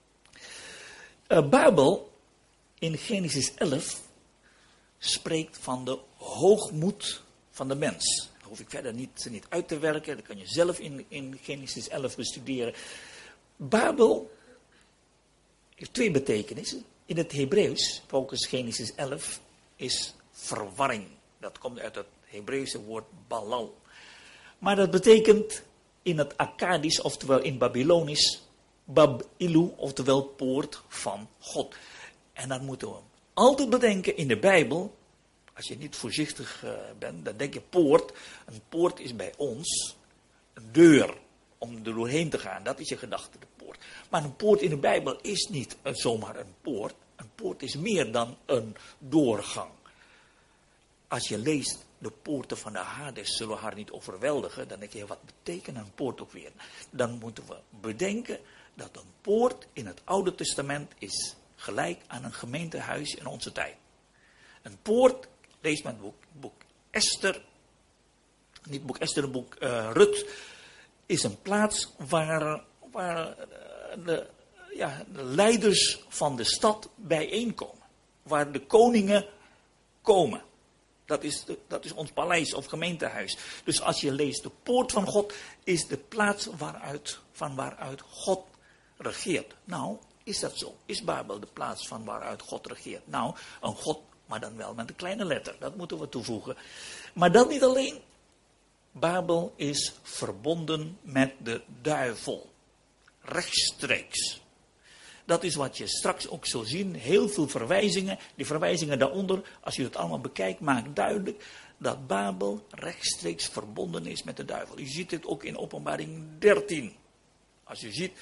Babel in Genesis 11 spreekt van de hoogmoed van de mens. Dat hoef ik verder niet uit te werken, dat kan je zelf in Genesis 11 bestuderen. Babel heeft twee betekenissen. In het Hebreeuws, volgens Genesis 11, is verwarring. Dat komt uit het Hebreeuwse woord balal. Maar dat betekent in het Akkadisch, oftewel in Babylonisch, Bab-ilu, oftewel poort van God. En dan moeten we altijd bedenken in de Bijbel, als je niet voorzichtig bent, dan denk je poort. Een poort is bij ons een deur om er doorheen te gaan. Dat is je gedachte, de poort. Maar een poort in de Bijbel is niet zomaar een poort. Een poort is meer dan een doorgang. Als je leest de poorten van de Hades zullen haar niet overweldigen, dan denk je, wat betekent een poort ook weer? Dan moeten we bedenken dat een poort in het Oude Testament is gelijk aan een gemeentehuis in onze tijd. Een poort, lees maar het boek Esther, niet boek Esther, het boek Rut, is een plaats waar de leiders van de stad bijeenkomen. Waar de koningen komen. Dat is ons paleis of gemeentehuis. Dus als je leest de poort van God, is de plaats van waaruit God regeert. Nou, is dat zo? Is Babel de plaats van waaruit God regeert? Nou, een God, maar dan wel met een kleine letter. Dat moeten we toevoegen. Maar dat niet alleen. Babel is verbonden met de duivel. Rechtstreeks. Dat is wat je straks ook zult zien. Heel veel verwijzingen. Die verwijzingen daaronder, als je het allemaal bekijkt, maakt duidelijk dat Babel rechtstreeks verbonden is met de duivel. Je ziet het ook in Openbaring 13. Als je ziet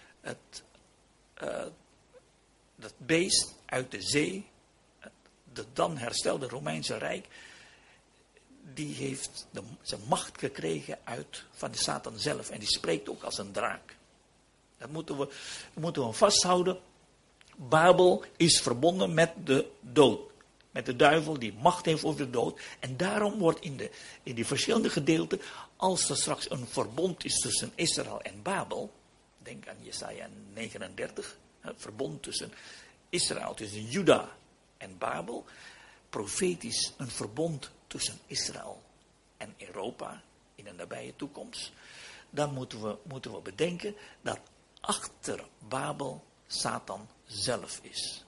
dat beest uit de zee, het dan herstelde Romeinse Rijk, die heeft zijn macht gekregen van de Satan zelf. En die spreekt ook als een draak. Dat moeten we vasthouden. Babel is verbonden met de dood. Met de duivel die macht heeft over de dood. En daarom wordt in die verschillende gedeelten, als er straks een verbond is tussen Israël en Babel. Denk aan Jesaja 39. Het verbond tussen Israël, tussen Juda en Babel. Profetisch een verbond tussen Israël en Europa in de nabije toekomst. Dan moeten we bedenken dat achter Babel Satan zelf is.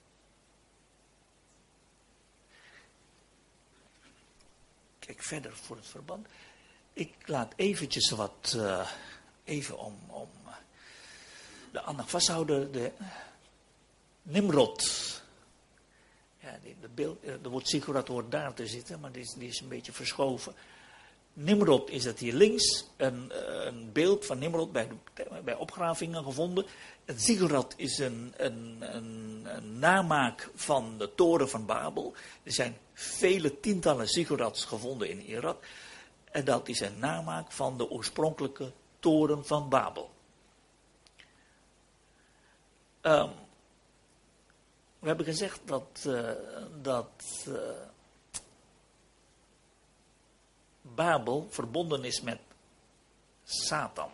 Kijk verder voor het verband. Ik laat eventjes even om de aandacht vasthouden. De Nimrod. Ja, het beeld, er wordt Sigurd hoort daar te zitten, maar die is een beetje verschoven. Nimrod is het hier links, een beeld van Nimrod bij opgravingen gevonden. Het ziggurat is een namaak van de toren van Babel. Er zijn vele tientallen ziggurats gevonden in Irak. En dat is een namaak van de oorspronkelijke toren van Babel. We hebben gezegd dat Babel verbonden is met Satan.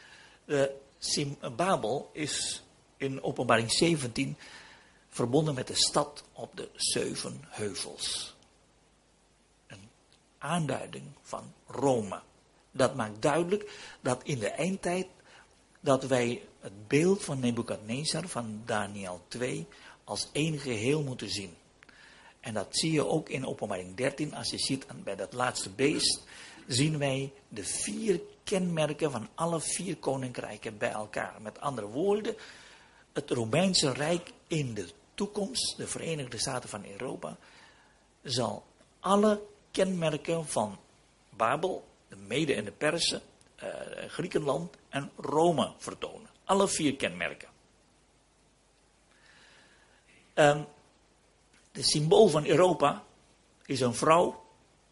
Babel is in Openbaring 17 verbonden met de stad op de 7 heuvels. Een aanduiding van Rome. Dat maakt duidelijk dat in de eindtijd dat wij het beeld van Nebukadnezar van Daniel 2 als één geheel moeten zien. En dat zie je ook in Openbaring 13 als je ziet bij dat laatste beest. zien wij de 4 kenmerken van alle 4 koninkrijken bij elkaar. Met andere woorden, het Romeinse Rijk in de toekomst, de Verenigde Staten van Europa, zal alle kenmerken van Babel, de Mede en de Persen, Griekenland en Rome vertonen. Alle 4 kenmerken. De symbool van Europa is een vrouw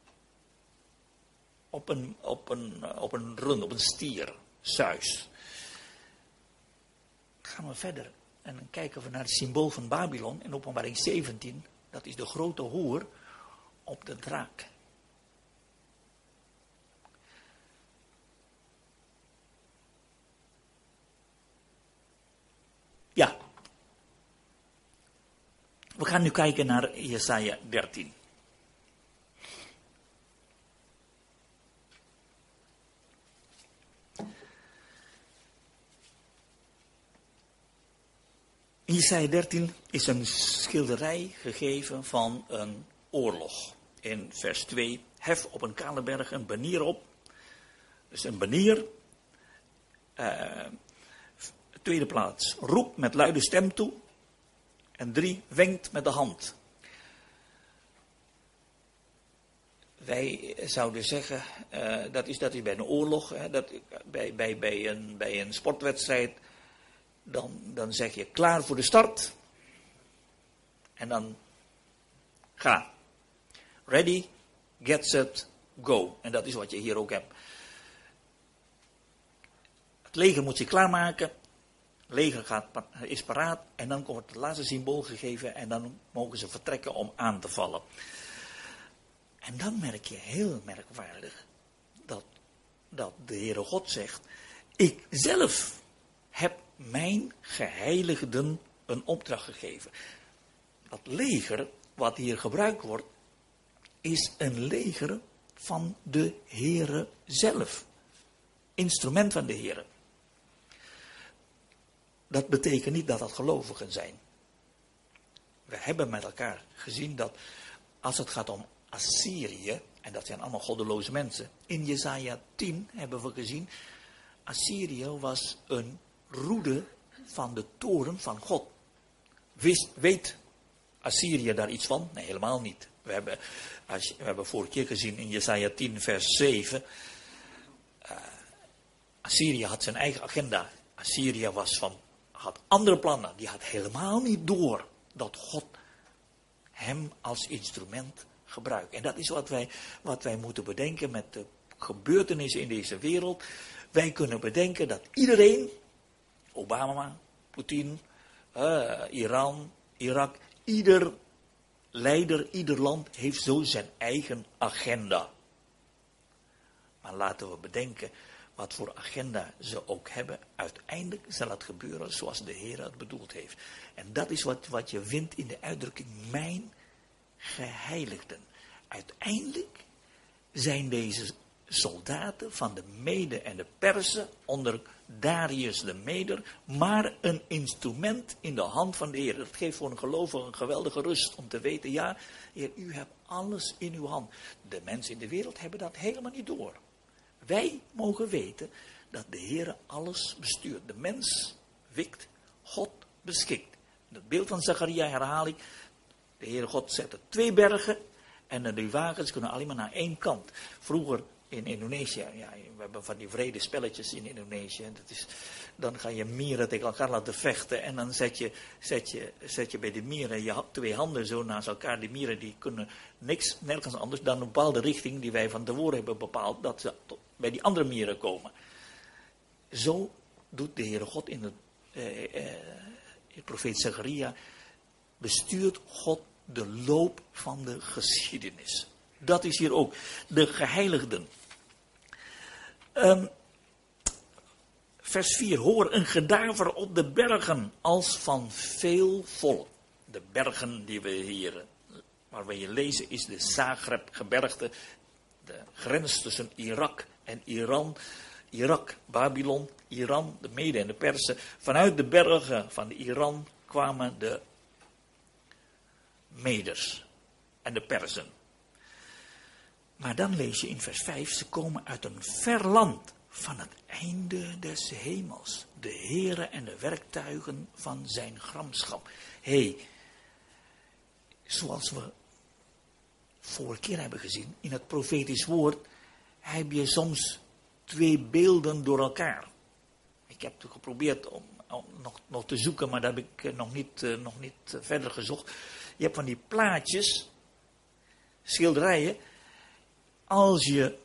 op een rund, op een stier, Zeus. Gaan we verder en dan kijken we naar het symbool van Babylon in Openbaring 17. Dat is de grote hoer op de draak. Ja. We gaan nu kijken naar Jesaja 13. In Jesaja 13 is een schilderij gegeven van een oorlog. In vers 2, hef op een kale berg een banier op. Dus een banier. Tweede plaats, roep met luide stem toe. En 3, wenkt met de hand. Wij zouden zeggen, dat is bij een oorlog, bij een sportwedstrijd. Dan zeg je klaar voor de start. En dan ga. Ready, get set, go. En dat is wat je hier ook hebt. Het leger moet zich klaarmaken. Het leger is paraat. En dan wordt het laatste symbool gegeven. En dan mogen ze vertrekken om aan te vallen. En dan merk je heel merkwaardig dat de Heere God zegt, ik zelf heb mijn geheiligden een opdracht gegeven. Dat leger wat hier gebruikt wordt, is een leger van de Heere zelf. Instrument van de Heere. Dat betekent niet dat dat gelovigen zijn. We hebben met elkaar gezien dat als het gaat om Assyrië, en dat zijn allemaal goddeloze mensen. In Jesaja 10 hebben we gezien, Assyrië was een roede van de toren van God. Weet Assyrië daar iets van? Nee, helemaal niet. We hebben vorige keer gezien in Jesaja 10 vers 7. Assyrië had zijn eigen agenda. Assyrië had andere plannen. Die had helemaal niet door dat God hem als instrument gebruikt. En dat is wat wij moeten bedenken met de gebeurtenissen in deze wereld. Wij kunnen bedenken dat iedereen, Obama, Poetin, Iran, Irak, ieder leider, ieder land heeft zo zijn eigen agenda. Maar laten we bedenken wat voor agenda ze ook hebben. Uiteindelijk zal het gebeuren zoals de Heer het bedoeld heeft. En dat is wat je vindt in de uitdrukking mijn geheiligden. Uiteindelijk zijn deze soldaten van de Mede en de Persen onder Darius de Meder maar een instrument in de hand van de Heer. Dat geeft voor een gelovige een geweldige rust om te weten, ja, Heer, u hebt alles in uw hand. De mensen in de wereld hebben dat helemaal niet door. Wij mogen weten dat de Heer alles bestuurt. De mens wikt, God beschikt. Het beeld van Zacharia herhaal ik. De Heere God zette 2 bergen en die wagens kunnen alleen maar naar 1 kant. Vroeger in Indonesië, ja, we hebben van die vrede spelletjes in Indonesië. Dan ga je mieren tegen elkaar laten vechten en dan zet je bij de mieren je 2 handen zo naast elkaar. Die mieren die kunnen nergens anders dan een bepaalde richting die wij van tevoren hebben bepaald, dat ze bij die andere mieren komen. Zo doet de Heere God in de profeet Zacharia, bestuurt God de loop van de geschiedenis. Dat is hier ook de geheiligden. Vers 4. Hoor een gedaver op de bergen als van veel volk. De bergen die we hier, waar we hier lezen, is de Zagreb-gebergte. De grens tussen Irak en Iran. Irak, Babylon, Iran, de Mede en de Persen. Vanuit de bergen van Iran kwamen de Meders en de Persen. Maar dan lees je in vers 5, ze komen uit een ver land van het einde des hemels. De Heere en de werktuigen van zijn gramschap. Zoals we vorige keer hebben gezien, in het profetisch woord heb je soms twee beelden door elkaar. Ik heb het geprobeerd om nog te zoeken, maar dat heb ik nog niet verder gezocht. Je hebt van die plaatjes, schilderijen. Als je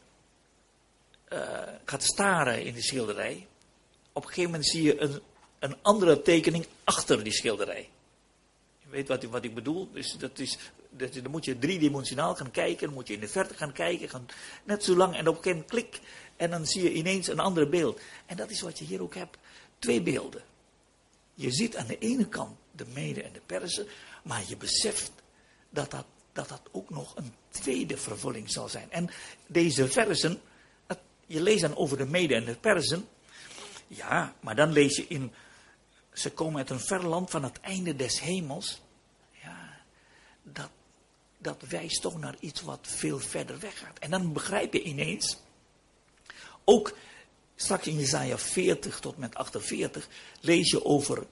gaat staren in de schilderij, op een gegeven moment zie je een andere tekening achter die schilderij. Je weet wat ik bedoel? Dus dan moet je driedimensionaal gaan kijken, dan moet je in de verte gaan kijken, net zo lang en op een gegeven moment klik en dan zie je ineens een ander beeld. En dat is wat je hier ook hebt, twee beelden. Je ziet aan de ene kant de Mede en de Perzen, maar je beseft dat ook nog een tweede vervulling zal zijn. En deze versen, je leest dan over de Mede en de Perzen, ja, maar dan lees je ze komen uit een ver land van het einde des hemels. Ja, dat wijst toch naar iets wat veel verder weg gaat. En dan begrijp je ineens, ook straks in Jesaja 40 tot met 48, lees je over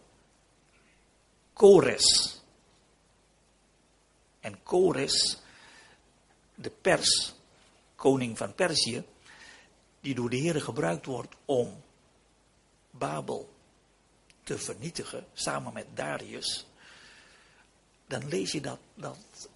Kores. En Kores, de Pers, koning van Perzië, die door de Heere gebruikt wordt om Babel te vernietigen, samen met Darius, dan lees je dat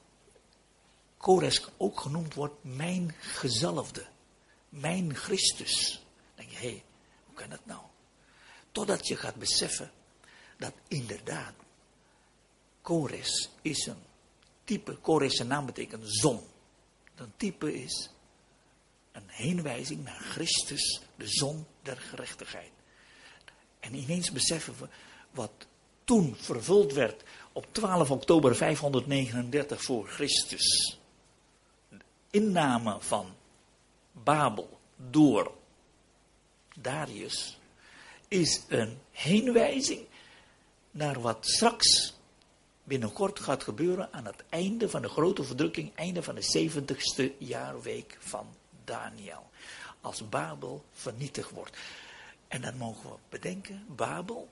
Kores ook genoemd wordt mijn gezalfde, mijn Christus. Dan denk je, hoe kan dat nou? Totdat je gaat beseffen dat inderdaad Kores is een type, Kores zijn naam betekent zon. Een type is een heenwijzing naar Christus, de zon der gerechtigheid. En ineens beseffen we wat toen vervuld werd op 12 oktober 539 voor Christus. De inname van Babel door Darius is een heenwijzing naar wat straks binnenkort gaat gebeuren aan het einde van de grote verdrukking, einde van de 70ste jaarweek van Daniel. Als Babel vernietigd wordt. En dan mogen we bedenken, Babel,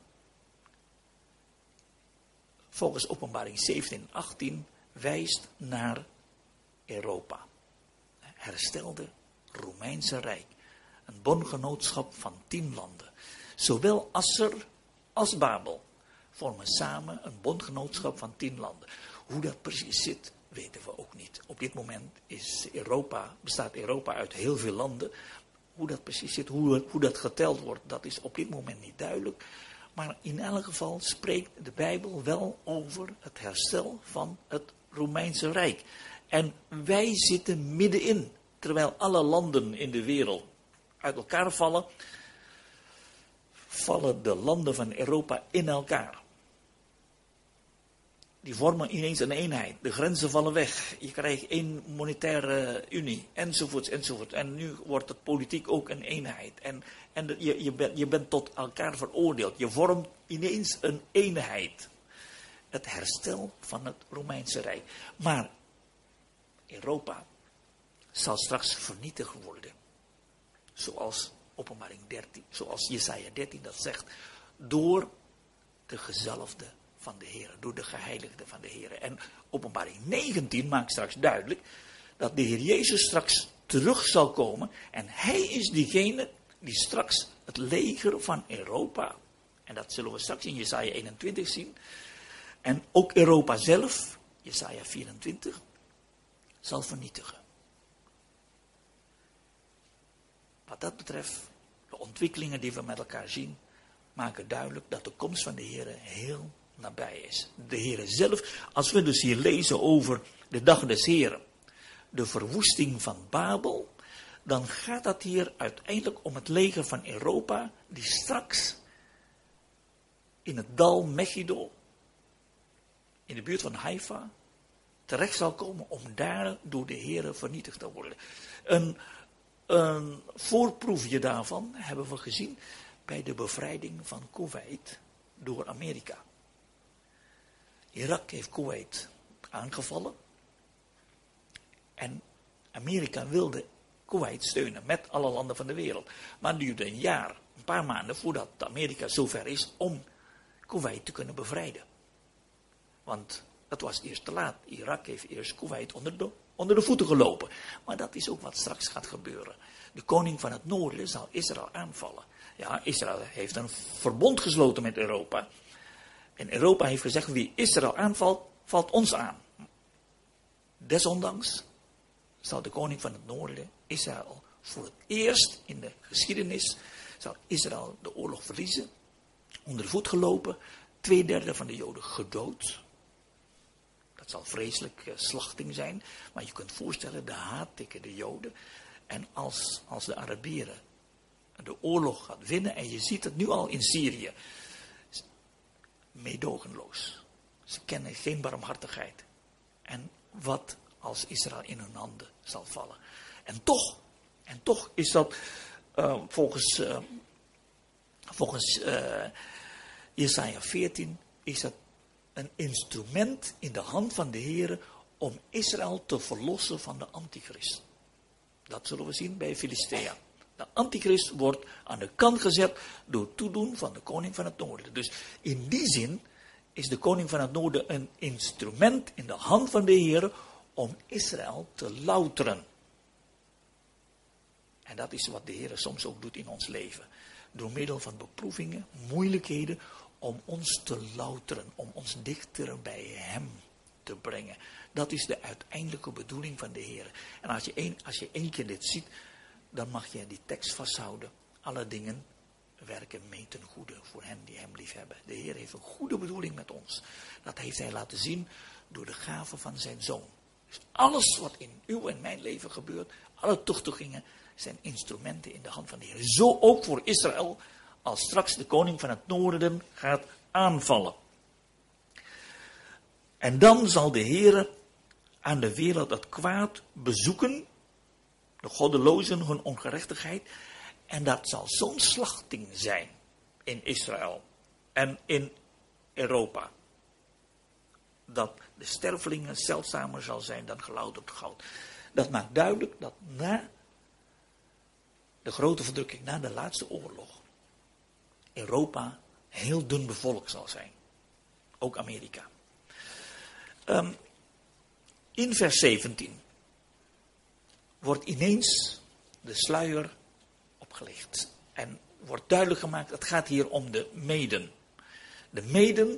volgens Openbaring 17 en 18, wijst naar Europa. Herstelde Romeinse Rijk. Een bondgenootschap van 10 landen. Zowel Asser als Babel vormen samen een bondgenootschap van 10 landen. Hoe dat precies zit, weten we ook niet. Op dit moment bestaat Europa uit heel veel landen. Hoe dat precies zit, hoe dat geteld wordt, dat is op dit moment niet duidelijk. Maar in elk geval spreekt de Bijbel wel over het herstel van het Romeinse Rijk. En wij zitten middenin, terwijl alle landen in de wereld uit elkaar vallen de landen van Europa in elkaar. Die vormen ineens een eenheid. De grenzen vallen weg. Je krijgt één monetaire unie. Enzovoorts, enzovoort. En nu wordt het politiek ook een eenheid. En je bent tot elkaar veroordeeld. Je vormt ineens een eenheid. Het herstel van het Romeinse Rijk. Maar Europa zal straks vernietigd worden. Zoals Openbaring 13, zoals Jesaja 13 dat zegt. Door de gezalfde van de Heer, door de geheiligde van de Heer. En Openbaring 19 maakt straks duidelijk dat de Heer Jezus straks terug zal komen. En hij is diegene die straks het leger van Europa, en dat zullen we straks in Jesaja 21 zien, en ook Europa zelf, Jesaja 24, zal vernietigen. Wat dat betreft, de ontwikkelingen die we met elkaar zien, maken duidelijk dat de komst van de Heer heel nabij is. De Heer zelf, als we dus hier lezen over de dag des Heren, de verwoesting van Babel, dan gaat dat hier uiteindelijk om het leger van Europa, die straks in het dal Megiddo, in de buurt van Haifa, terecht zal komen om daar door de Heer vernietigd te worden. Een voorproefje daarvan hebben we gezien bij de bevrijding van Kuwait door Amerika. Irak heeft Kuwait aangevallen. En Amerika wilde Kuwait steunen met alle landen van de wereld. Maar het duurde een paar maanden voordat Amerika zover is om Kuwait te kunnen bevrijden. Want het was eerst te laat. Irak heeft eerst Kuwait onder de voeten gelopen. Maar dat is ook wat straks gaat gebeuren. De koning van het noorden zal Israël aanvallen. Ja, Israël heeft een verbond gesloten met Europa. En Europa heeft gezegd, wie Israël aanvalt, valt ons aan. Desondanks zal de koning van het noorden, Israël, voor het eerst in de geschiedenis, zal Israël de oorlog verliezen, onder de voet gelopen, 2/3 van de Joden gedood. Dat zal vreselijk slachting zijn, maar je kunt voorstellen, de haat tegen de Joden. En als de Arabieren de oorlog gaat winnen, en je ziet het nu al in Syrië, meedogenloos. Ze kennen geen barmhartigheid. En wat als Israël in hun handen zal vallen. En toch is dat volgens Jesaja 14 is dat een instrument in de hand van de Heere om Israël te verlossen van de antichrist. Dat zullen we zien bij Filistea. De antichrist wordt aan de kant gezet door toedoen van de koning van het noorden. Dus in die zin is de koning van het noorden een instrument in de hand van de Heere om Israël te louteren. En dat is wat de Heere soms ook doet in ons leven. Door middel van beproevingen, moeilijkheden, om ons te louteren, om ons dichter bij hem te brengen. Dat is de uiteindelijke bedoeling van de Heer. En als je één keer dit ziet, dan mag je die tekst vasthouden. Alle dingen werken mee ten goede voor hen die hem lief hebben. De Heer heeft een goede bedoeling met ons. Dat heeft hij laten zien door de gave van zijn zoon. Dus alles wat in uw en mijn leven gebeurt, alle tuchtigingen, zijn instrumenten in de hand van de Heer. Zo ook voor Israël, als straks de koning van het noorden gaat aanvallen. En dan zal de Heer aan de wereld het kwaad bezoeken, de goddelozen hun ongerechtigheid, en dat zal zo'n slachting zijn in Israël en in Europa, dat de stervelingen zeldzamer zal zijn dan gelouterd goud. Dat maakt duidelijk dat na de grote verdrukking, na de laatste oorlog, Europa heel dun bevolkt zal zijn. Ook Amerika. In vers 17 wordt ineens de sluier opgelicht. En wordt duidelijk gemaakt, het gaat hier om de Meden. De Meden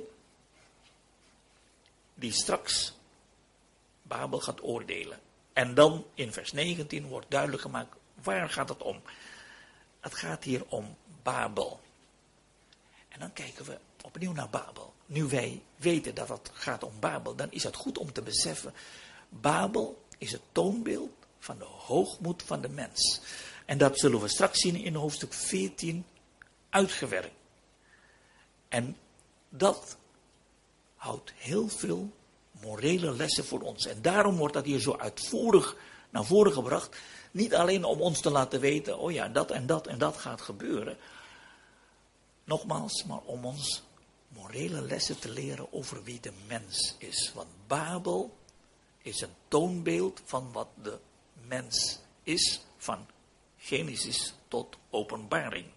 die straks Babel gaat oordelen. En dan in vers 19 wordt duidelijk gemaakt, waar gaat het om? Het gaat hier om Babel. En dan kijken we opnieuw naar Babel. Nu wij weten dat het gaat om Babel, dan is het goed om te beseffen, Babel is het toonbeeld van de hoogmoed van de mens. En dat zullen we straks zien in hoofdstuk 14 uitgewerkt. En dat houdt heel veel morele lessen voor ons. En daarom wordt dat hier zo uitvoerig naar voren gebracht. Niet alleen om ons te laten weten, oh ja, dat en dat en dat gaat gebeuren. Nogmaals, maar om ons morele lessen te leren over wie de mens is. Want Babel is een toonbeeld van wat de mens is, van Genesis tot Openbaring.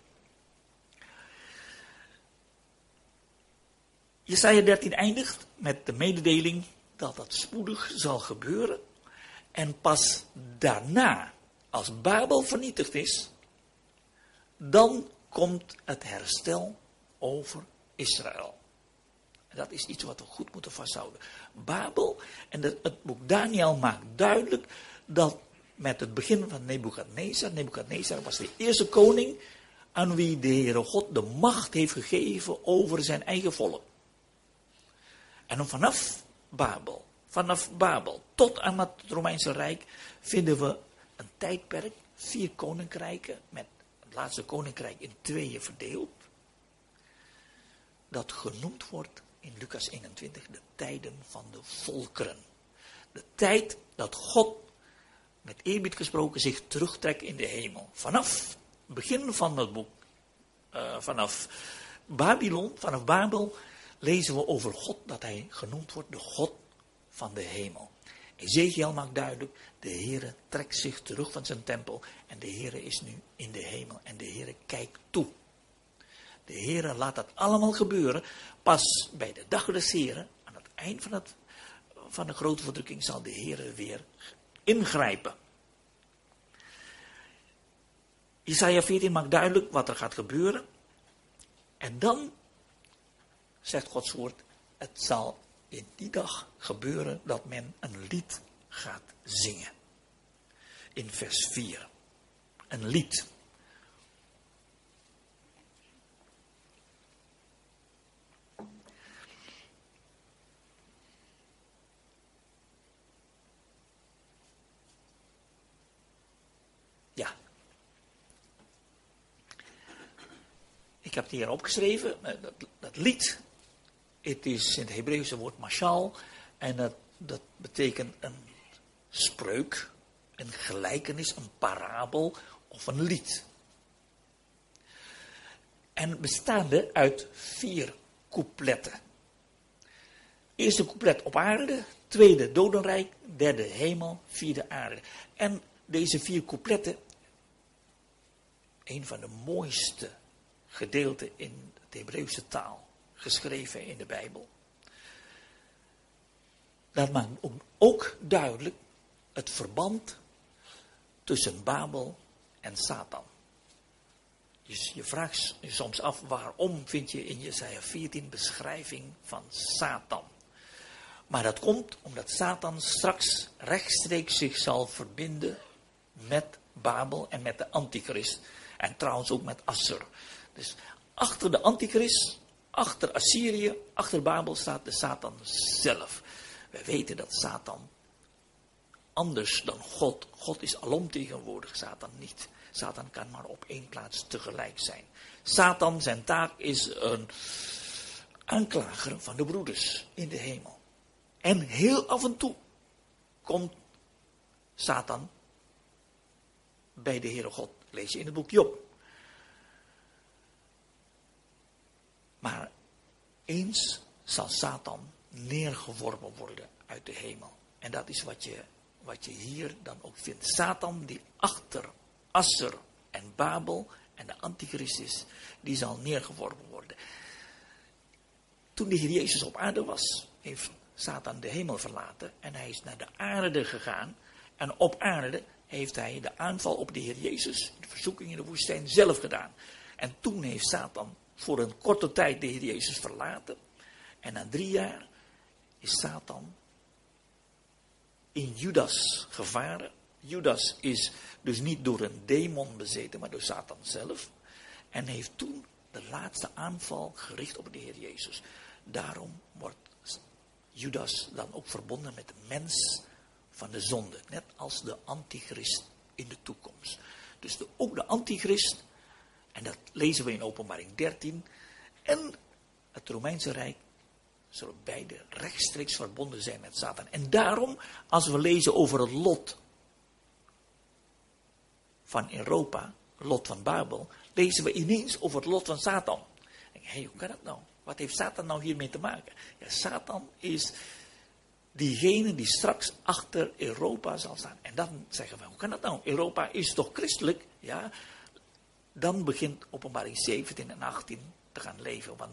Jesaja 13 eindigt met de mededeling dat dat spoedig zal gebeuren. En pas daarna, als Babel vernietigd is, dan komt het herstel over Israël. En dat is iets wat we goed moeten vasthouden. Babel, en het boek Daniel maakt duidelijk dat met het begin van Nebukadnezar was de eerste koning aan wie de Heere God de macht heeft gegeven over zijn eigen volk. En vanaf Babel tot aan het Romeinse Rijk vinden we een tijdperk, 4 koninkrijken, met het laatste koninkrijk in 2 verdeeld, dat genoemd wordt in Lucas 21 de tijden van de volkeren. De tijd dat God, met eerbied gesproken, zich terugtrekt in de hemel. Vanaf het begin van het boek, vanaf Babel, lezen we over God dat hij genoemd wordt de God van de hemel. Ezekiel maakt duidelijk, de Heere trekt zich terug van zijn tempel en de Heere is nu in de hemel en de Heere kijkt toe. De Heere laat dat allemaal gebeuren. Pas bij de dag des Heeren, aan het eind van de grote verdrukking, zal de Heere weer ingrijpen. Jesaja 14 maakt duidelijk wat er gaat gebeuren. En dan, zegt Gods woord, het zal in die dag gebeuren dat men een lied gaat zingen. In vers 4. Een lied. Ja. Ik heb het hier opgeschreven, dat lied. Het is in het Hebreeuwse woord mashal. En dat betekent een spreuk, een gelijkenis, een parabel of een lied. En bestaande uit 4 coupletten. Eerste couplet op aarde, tweede dodenrijk, derde hemel, vierde aarde. En deze 4 coupletten, een van de mooiste gedeelten in de Hebreeuwse taal, geschreven in de Bijbel. Dat maakt ook duidelijk het verband tussen Babel en Satan. Dus je vraagt je soms af, waarom vind je in Jesaja 14 beschrijving van Satan? Maar dat komt omdat Satan straks rechtstreeks zich zal verbinden met Babel en met de Antichrist. En trouwens ook met Assur. Dus achter de Antichrist, achter Assyrië, achter Babel staat de Satan zelf. We weten dat Satan anders dan God. God is alomtegenwoordig, Satan niet. Satan kan maar op 1 plaats tegelijk zijn. Satan, zijn taak is een aanklager van de broeders in de hemel. En heel af en toe komt Satan bij de Heere God. Lees je in het boek Job. Maar eens zal Satan neergeworpen worden uit de hemel. En dat is wat je hier dan ook vindt. Satan die achter Assur en Babel en de Antichrist is, die zal neergeworpen worden. Toen de Heer Jezus op aarde was, heeft Satan de hemel verlaten en hij is naar de aarde gegaan. En op aarde heeft hij de aanval op de Heer Jezus, de verzoeking in de woestijn, zelf gedaan. En toen heeft Satan voor een korte tijd de Heer Jezus verlaten. En na 3 jaar is Satan in Judas gevaren. Judas is dus niet door een demon bezeten, maar door Satan zelf. En heeft toen de laatste aanval gericht op de Heer Jezus. Daarom wordt Judas dan ook verbonden met de mens van de zonde. Net als de Antichrist in de toekomst. Dus ook de Antichrist, en dat lezen we in Openbaring 13, en het Romeinse Rijk zullen beide rechtstreeks verbonden zijn met Satan. En daarom, als we lezen over het lot van Europa, het lot van Babel, lezen we ineens over het lot van Satan. Hé, hoe kan dat nou? Wat heeft Satan nou hiermee te maken? Ja, Satan is diegene die straks achter Europa zal staan. En dan zeggen we, hoe kan dat nou? Europa is toch christelijk? Ja, dan begint Openbaring 17 en 18 te gaan leven. Want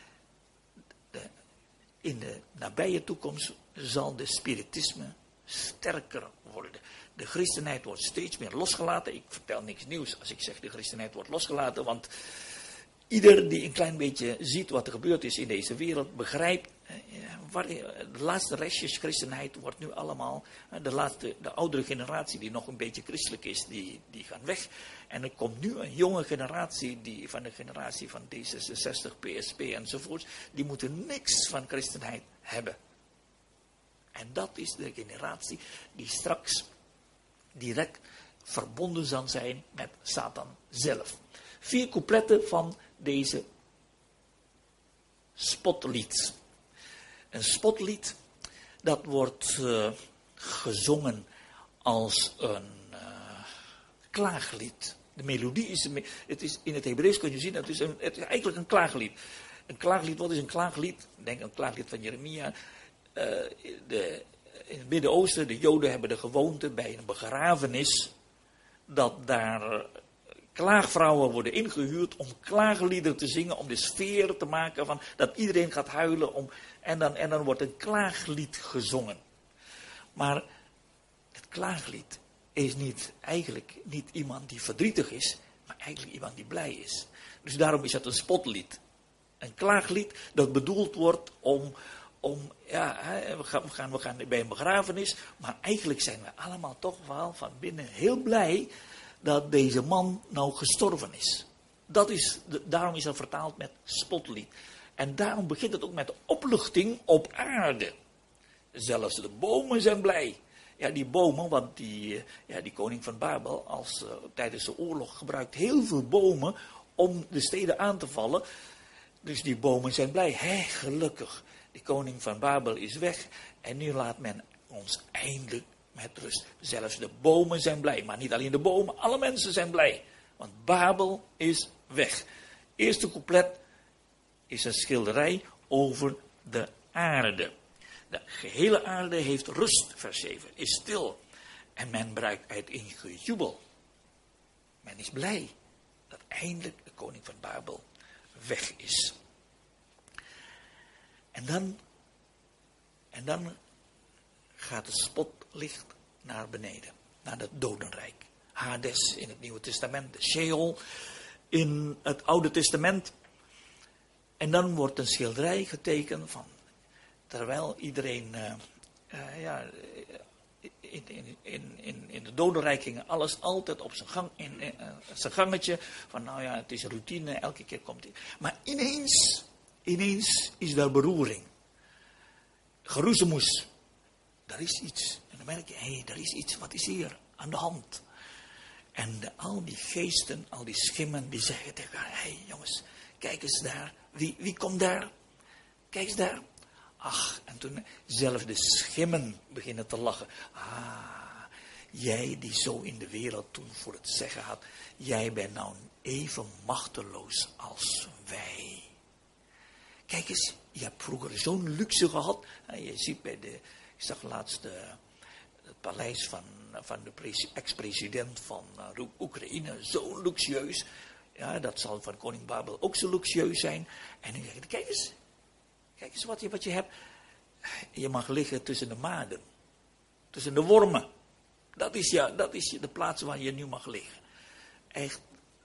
in de nabije toekomst zal de spiritisme sterker worden. De christenheid wordt steeds meer losgelaten. Ik vertel niks nieuws als ik zeg de christenheid wordt losgelaten, want ieder die een klein beetje ziet wat er gebeurd is in deze wereld, begrijpt, de laatste restjes christenheid wordt nu allemaal, de oudere generatie die nog een beetje christelijk is, die gaan weg. En er komt nu een jonge generatie, die van de generatie van D66, PSP enzovoort, die moeten niks van christenheid hebben. En dat is de generatie die straks direct verbonden zal zijn met Satan zelf. 4 coupletten van deze spotlied. Een spotlied, dat wordt gezongen als een klaaglied. De melodie is, in het Hebreeuws kun je zien, het is eigenlijk een klaaglied. Een klaaglied, wat is een klaaglied? Denk aan een klaaglied van Jeremia. in het Midden-Oosten, de Joden hebben de gewoonte bij een begrafenis, dat daar klaagvrouwen worden ingehuurd om klaagliederen te zingen, om de sfeer te maken van dat iedereen gaat huilen. En dan wordt een klaaglied gezongen. Maar het klaaglied is eigenlijk niet iemand die verdrietig is, maar eigenlijk iemand die blij is. Dus daarom is het een spotlied. Een klaaglied dat bedoeld wordt we gaan bij een begrafenis, maar eigenlijk zijn we allemaal toch wel van binnen heel blij dat deze man nou gestorven is. Daarom is dat vertaald met spotlied. En daarom begint het ook met opluchting op aarde. Zelfs de bomen zijn blij. Ja, die bomen, want die koning van Babel, tijdens de oorlog gebruikt heel veel bomen om de steden aan te vallen. Dus die bomen zijn blij. Gelukkig, die koning van Babel is weg. En nu laat men ons eindelijk met rust. Zelfs de bomen zijn blij. Maar niet alleen de bomen, alle mensen zijn blij. Want Babel is weg. Eerste couplet is een schilderij over de aarde. De gehele aarde heeft rust, vers 7, is stil. En men breekt uit in gejubel. Men is blij dat eindelijk de koning van Babel weg is. En dan gaat het spotlicht naar beneden, naar het dodenrijk. Hades in het Nieuwe Testament, de Sheol in het Oude Testament. En dan wordt een schilderij getekend van, terwijl iedereen in het dodenrijk ging alles altijd op zijn gang, zijn gangetje, van het is routine, elke keer komt hij. Maar ineens is daar beroering. Geroezemoes. Daar is iets. En dan merk je, daar is iets, wat is hier aan de hand? En al die geesten, al die schimmen, die zeggen tegen elkaar, jongens, kijk eens daar. Wie komt daar? Kijk eens daar. Ach, en toen zelfs de schimmen beginnen te lachen. Jij die zo in de wereld toen voor het zeggen had, jij bent nou even machteloos als wij. Kijk eens, je hebt vroeger zo'n luxe gehad. Je ziet ik zag laatst het paleis van de ex-president van Oekraïne, zo luxueus. Ja, dat zal van koning Babel ook zo luxueus zijn. En nu zeg je, kijk eens wat je hebt. Je mag liggen tussen de maden, tussen de wormen. Dat is de plaats waar je nu mag liggen. Echt,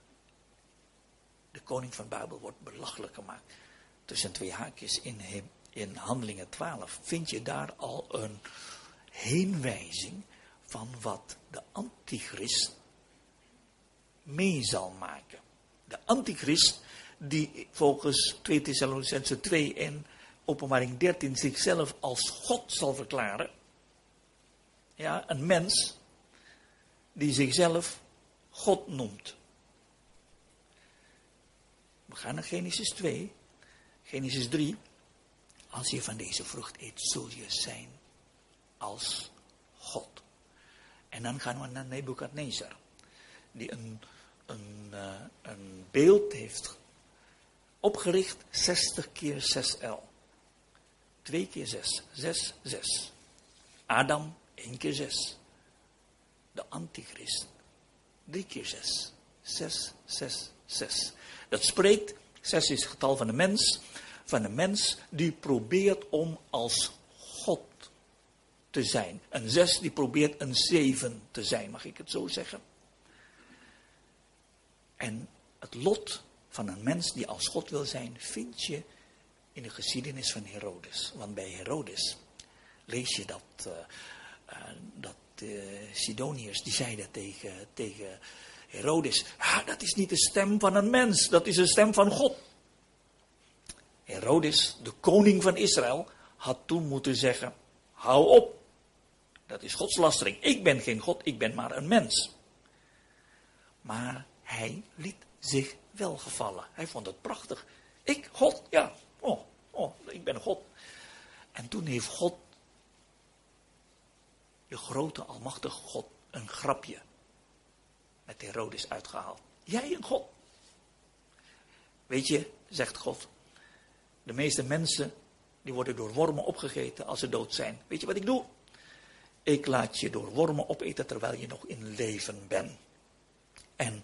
de koning van Babel wordt belachelijk gemaakt. Tussen twee haakjes in Handelingen 12 vind je daar al een heenwijzing van wat de antichrist mee zal maken. De antichrist die volgens 2 Thessalonicenzen 2 en Openbaring 13 zichzelf als God zal verklaren. Ja, een mens die zichzelf God noemt. We gaan naar Genesis 2. Genesis 3. Als je van deze vrucht eet, zul je zijn als God. En dan gaan we naar Nebukadnezar. Die een beeld heeft opgericht 60 keer 6L. 2 keer 6. 6, 6. Adam 1 keer 6. De antichrist 3 keer 6. 6, 6, 6. Dat spreekt, 6 is het getal van de mens. Van de mens die probeert om als God te zijn. Een 6 die probeert een 7 te zijn, mag ik het zo zeggen? En het lot van een mens die als God wil zijn, vind je in de geschiedenis van Herodes. Want bij Herodes lees je dat Sidoniërs, die zeiden tegen Herodes, dat is niet de stem van een mens, dat is de stem van God. Herodes, de koning van Israël, had toen moeten zeggen, hou op, dat is godslastering. Ik ben geen God, ik ben maar een mens. Maar hij liet zich wel gevallen. Hij vond het prachtig. Ik, God, ja, ik ben God. En toen heeft God, de grote almachtige God, een grapje met Herodes uitgehaald. Jij een God. Weet je, zegt God, de meeste mensen die worden door wormen opgegeten als ze dood zijn. Weet je wat ik doe? ik laat je door wormen opeten terwijl je nog in leven bent. En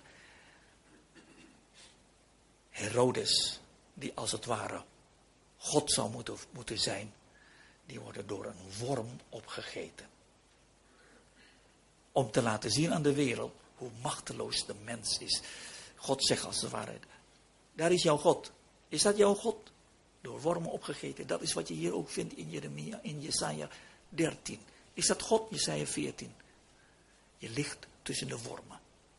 Herodes, die als het ware God zou moeten zijn, die worden door een worm opgegeten. Om te laten zien aan de wereld hoe machteloos de mens is. God zegt als het ware, daar is jouw God. Is dat jouw God? Door wormen opgegeten. Dat is wat je hier ook vindt in Jeremia, in Jesaja 13. Is dat God? Jesaja 14. Je ligt tussen de wormen.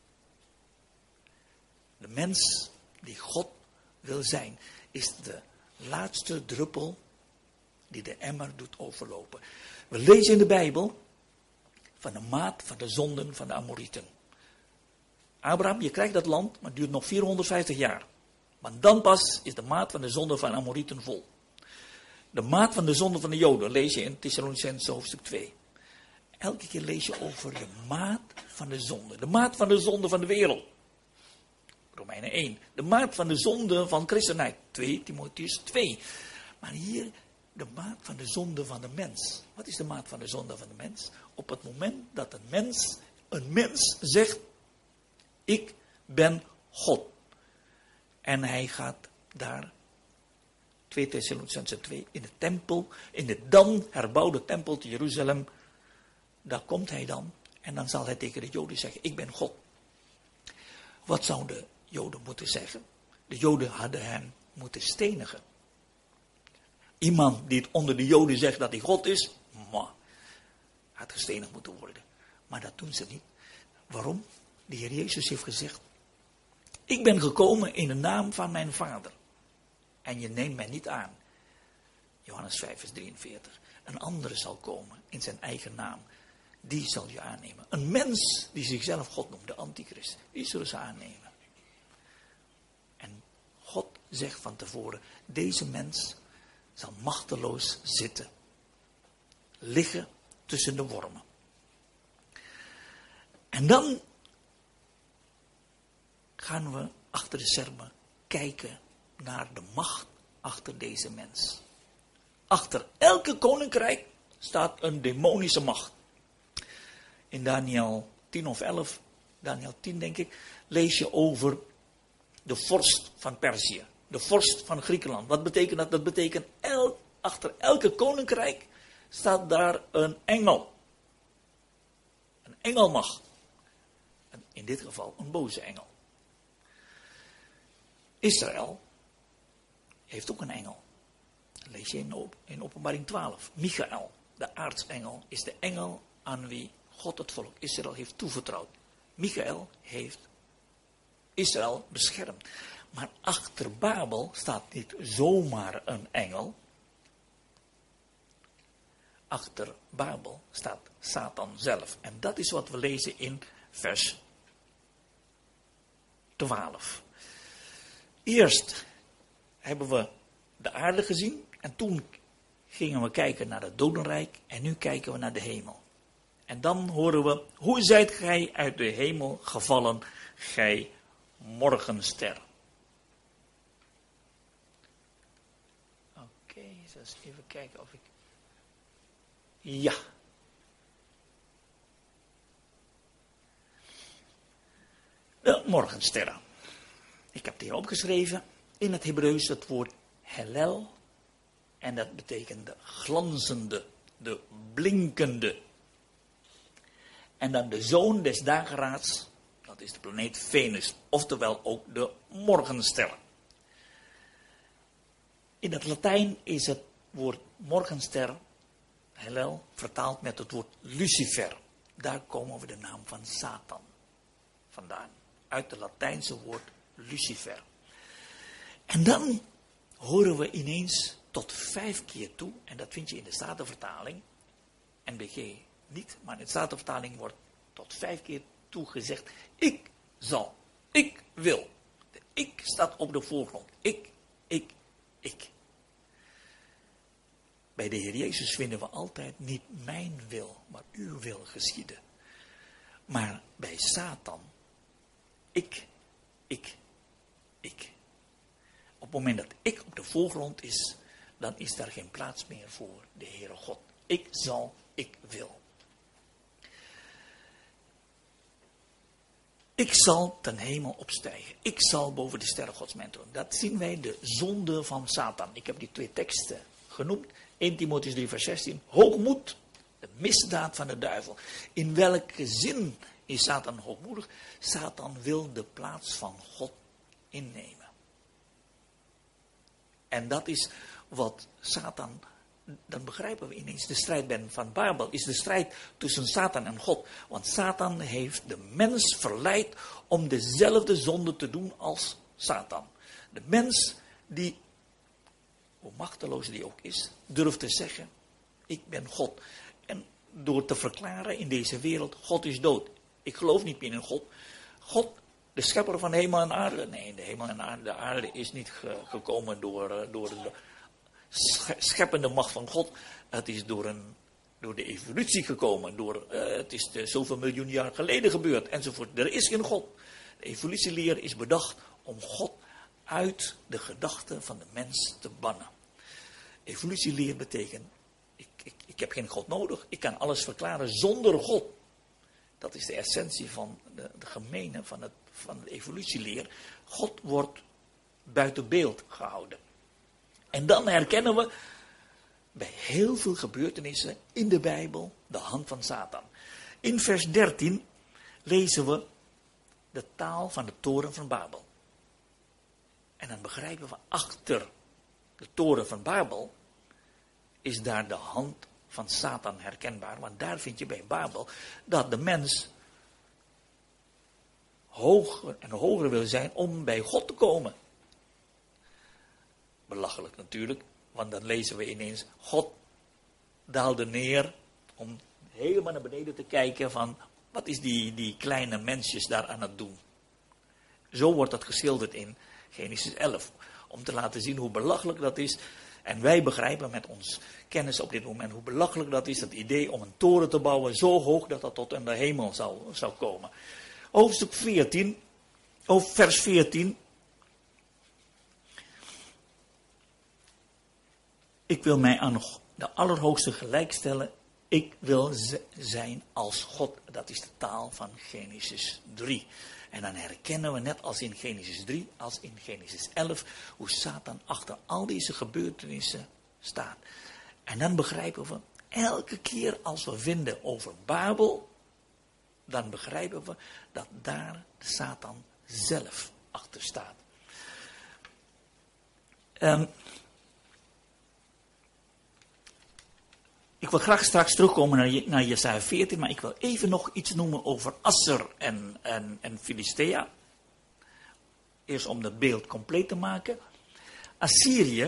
De mens die God wil zijn, is de laatste druppel die de emmer doet overlopen. We lezen in de Bijbel van de maat van de zonden van de Amorieten. Abraham, je krijgt dat land, maar het duurt nog 450 jaar. Want dan pas is de maat van de zonde van de Amorieten vol. De maat van de zonde van de Joden lees je in Thessalonicenzen hoofdstuk 2. Elke keer lees je over de maat van de zonde. De maat van de zonde van de wereld. Romeinen 1. De maat van de zonde van christenheid. 2 Timotheus 2. Maar hier de maat van de zonde van de mens. Wat is de maat van de zonde van de mens? Op het moment dat een mens zegt, ik ben God. En hij gaat daar, 2 Thessalonicenzen 2, in de tempel, in de dan herbouwde tempel te Jeruzalem, daar komt hij dan. En dan zal hij tegen de Joden zeggen, ik ben God. Wat zouden de Joden moeten zeggen? De Joden hadden hem moeten stenigen. Iemand die het onder de Joden zegt dat hij God is, had gestenigd moeten worden. Maar dat doen ze niet. Waarom? De Heer Jezus heeft gezegd, ik ben gekomen in de naam van mijn Vader. En je neemt mij niet aan. Johannes 5 vers 43. Een andere zal komen in zijn eigen naam. Die zal je aannemen. Een mens die zichzelf God noemt, de antichrist. Die zullen ze aannemen. En God zegt van tevoren, deze mens zal machteloos zitten. Liggen tussen de wormen. En dan gaan we achter de schermen kijken naar de macht achter deze mens. Achter elke koninkrijk staat een demonische macht. In Daniel 10 of 11, Daniel 10 denk ik, lees je over de vorst van Perzië. De vorst van Griekenland. Wat betekent dat? Dat betekent achter elke koninkrijk staat daar een engel. Een engelmacht. En in dit geval een boze engel. Israël heeft ook een engel. Dat lees je in Openbaring 12. Michael, de aartsengel, is de engel aan wie God het volk Israël heeft toevertrouwd. Michael heeft Israël beschermd. Maar achter Babel staat niet zomaar een engel. Achter Babel staat Satan zelf. En dat is wat we lezen in vers 12. Eerst hebben we de aarde gezien. En toen gingen we kijken naar het dodenrijk. En nu kijken we naar de hemel. En dan horen we, hoe zijt gij uit de hemel gevallen, gij morgenster. Oké, eens even kijken of ik... Ja. De morgensterren. Ik heb het hier opgeschreven. In het Hebreeuws het woord Hellel. En dat betekent de glanzende, de blinkende. En dan de zoon des dageraads, dat is de planeet Venus, oftewel ook de morgenster. In het Latijn is het woord morgenster, Hellel, vertaald met het woord Lucifer. Daar komen we de naam van Satan vandaan. Uit het Latijnse woord Lucifer. En dan horen we ineens tot 5 keer toe, en dat vind je in de Statenvertaling, NBG niet, maar in de Statenvertaling wordt tot 5 keer toe gezegd, ik zal, ik wil. De ik staat op de voorgrond. Ik. Bij de Heer Jezus vinden we altijd niet mijn wil, maar uw wil geschieden. Maar bij Satan, ik. Op het moment dat ik op de voorgrond is, dan is daar geen plaats meer voor de Heere God. Ik zal, ik wil. Ik zal ten hemel opstijgen. Ik zal boven de sterren Gods mijn troon. Dat zien wij de zonde van Satan. Ik heb die 2 teksten genoemd. 1 Timotheüs 3 vers 16. Hoogmoed, de misdaad van de duivel. In welke zin is Satan hoogmoedig? Satan wil de plaats van God innemen. En dat is wat Satan, dan begrijpen we ineens, de strijd van Babel is de strijd tussen Satan en God. Want Satan heeft de mens verleid om dezelfde zonde te doen als Satan. De mens die, hoe machteloos die ook is, durft te zeggen, ik ben God. En door te verklaren in deze wereld, God is dood. Ik geloof niet meer in God. God, de schepper van hemel en aarde. Nee, de hemel en de aarde is niet gekomen door de scheppende macht van God. Het is door de evolutie gekomen. Het is zoveel miljoen jaar geleden gebeurd. Enzovoort. Er is geen God. De evolutieleer is bedacht om God uit de gedachten van de mens te bannen. Evolutieleer betekent, ik heb geen God nodig. Ik kan alles verklaren zonder God. Dat is de essentie van de gemene van de evolutieleer. God wordt buiten beeld gehouden. En dan herkennen we bij heel veel gebeurtenissen in de Bijbel de hand van Satan. In vers 13 lezen we de taal van de toren van Babel. En dan begrijpen we, achter de toren van Babel is daar de hand van Satan herkenbaar. Want daar vind je bij Babel dat de mens hoger en hoger wil zijn om bij God te komen. Belachelijk natuurlijk, want dan lezen we ineens, God daalde neer om helemaal naar beneden te kijken van, wat is die kleine mensjes daar aan het doen? Zo wordt dat geschilderd in Genesis 11, om te laten zien hoe belachelijk dat is. En wij begrijpen met ons kennis op dit moment hoe belachelijk dat is, het idee om een toren te bouwen zo hoog dat dat tot in de hemel zou komen. Hoofdstuk 14, vers 14. Ik wil mij aan de Allerhoogste gelijkstellen. Ik wil zijn als God. Dat is de taal van Genesis 3. En dan herkennen we net als in Genesis 3, als in Genesis 11, hoe Satan achter al deze gebeurtenissen staat. En dan begrijpen we, elke keer als we vinden over Babel, dan begrijpen we dat daar Satan zelf achter staat. Ik wil graag straks terugkomen naar Jesaja 14, maar ik wil even nog iets noemen over Asser en Filistea. Eerst om dat beeld compleet te maken. Assyrië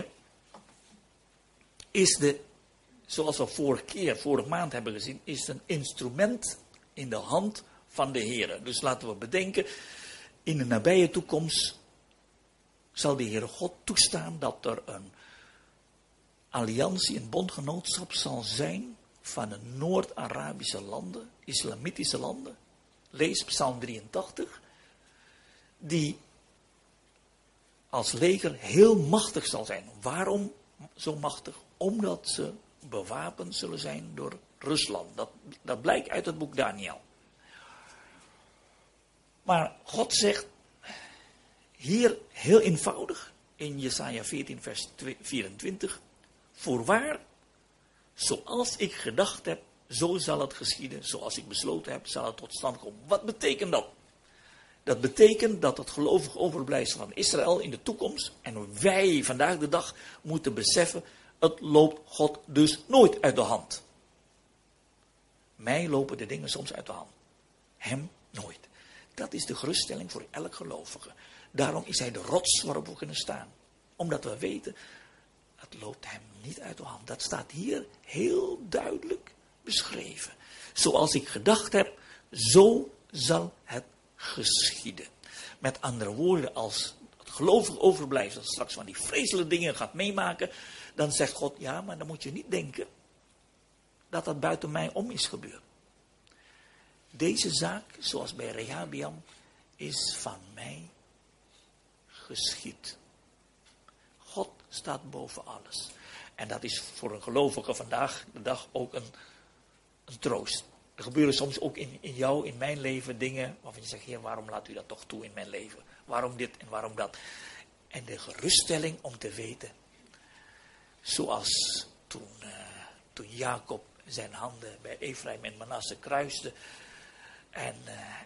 is zoals we vorige maand hebben gezien, is een instrument in de hand van de Heere. Dus laten we bedenken, in de nabije toekomst zal de Heere God toestaan dat er een alliantie, een bondgenootschap zal zijn van de Noord-Arabische landen, islamitische landen. Lees Psalm 83. Die als leger heel machtig zal zijn. Waarom zo machtig? Omdat ze bewapend zullen zijn door Rusland. Dat blijkt uit het boek Daniel. Maar God zegt hier heel eenvoudig in Jesaja 14 vers 24. Voorwaar, zoals ik gedacht heb, zo zal het geschieden. Zoals ik besloten heb, zal het tot stand komen. Wat betekent dat? Dat betekent dat het gelovig overblijfsel van Israël in de toekomst, en wij vandaag de dag moeten beseffen, het loopt God dus nooit uit de hand. Mij lopen de dingen soms uit de hand. Hem nooit. Dat is de geruststelling voor elk gelovige. Daarom is hij de rots waarop we kunnen staan. Omdat we weten, het loopt hem niet uit de hand. Dat staat hier heel duidelijk beschreven. Zoals ik gedacht heb, zo zal het geschieden. Met andere woorden, als het gelovig overblijft, dat straks van die vreselijke dingen gaat meemaken, dan zegt God, ja, maar dan moet je niet denken dat dat buiten mij om is gebeurd. Deze zaak, zoals bij Rehabiam, is van mij geschied. God staat boven alles. En dat is voor een gelovige vandaag de dag ook een troost. Er gebeuren soms ook in jou, in mijn leven, dingen waarvan je zegt, Heer, waarom laat u dat toch toe in mijn leven? Waarom dit en waarom dat? En de geruststelling om te weten, zoals toen Jacob zijn handen bij Efraïm en Manasse kruiste, en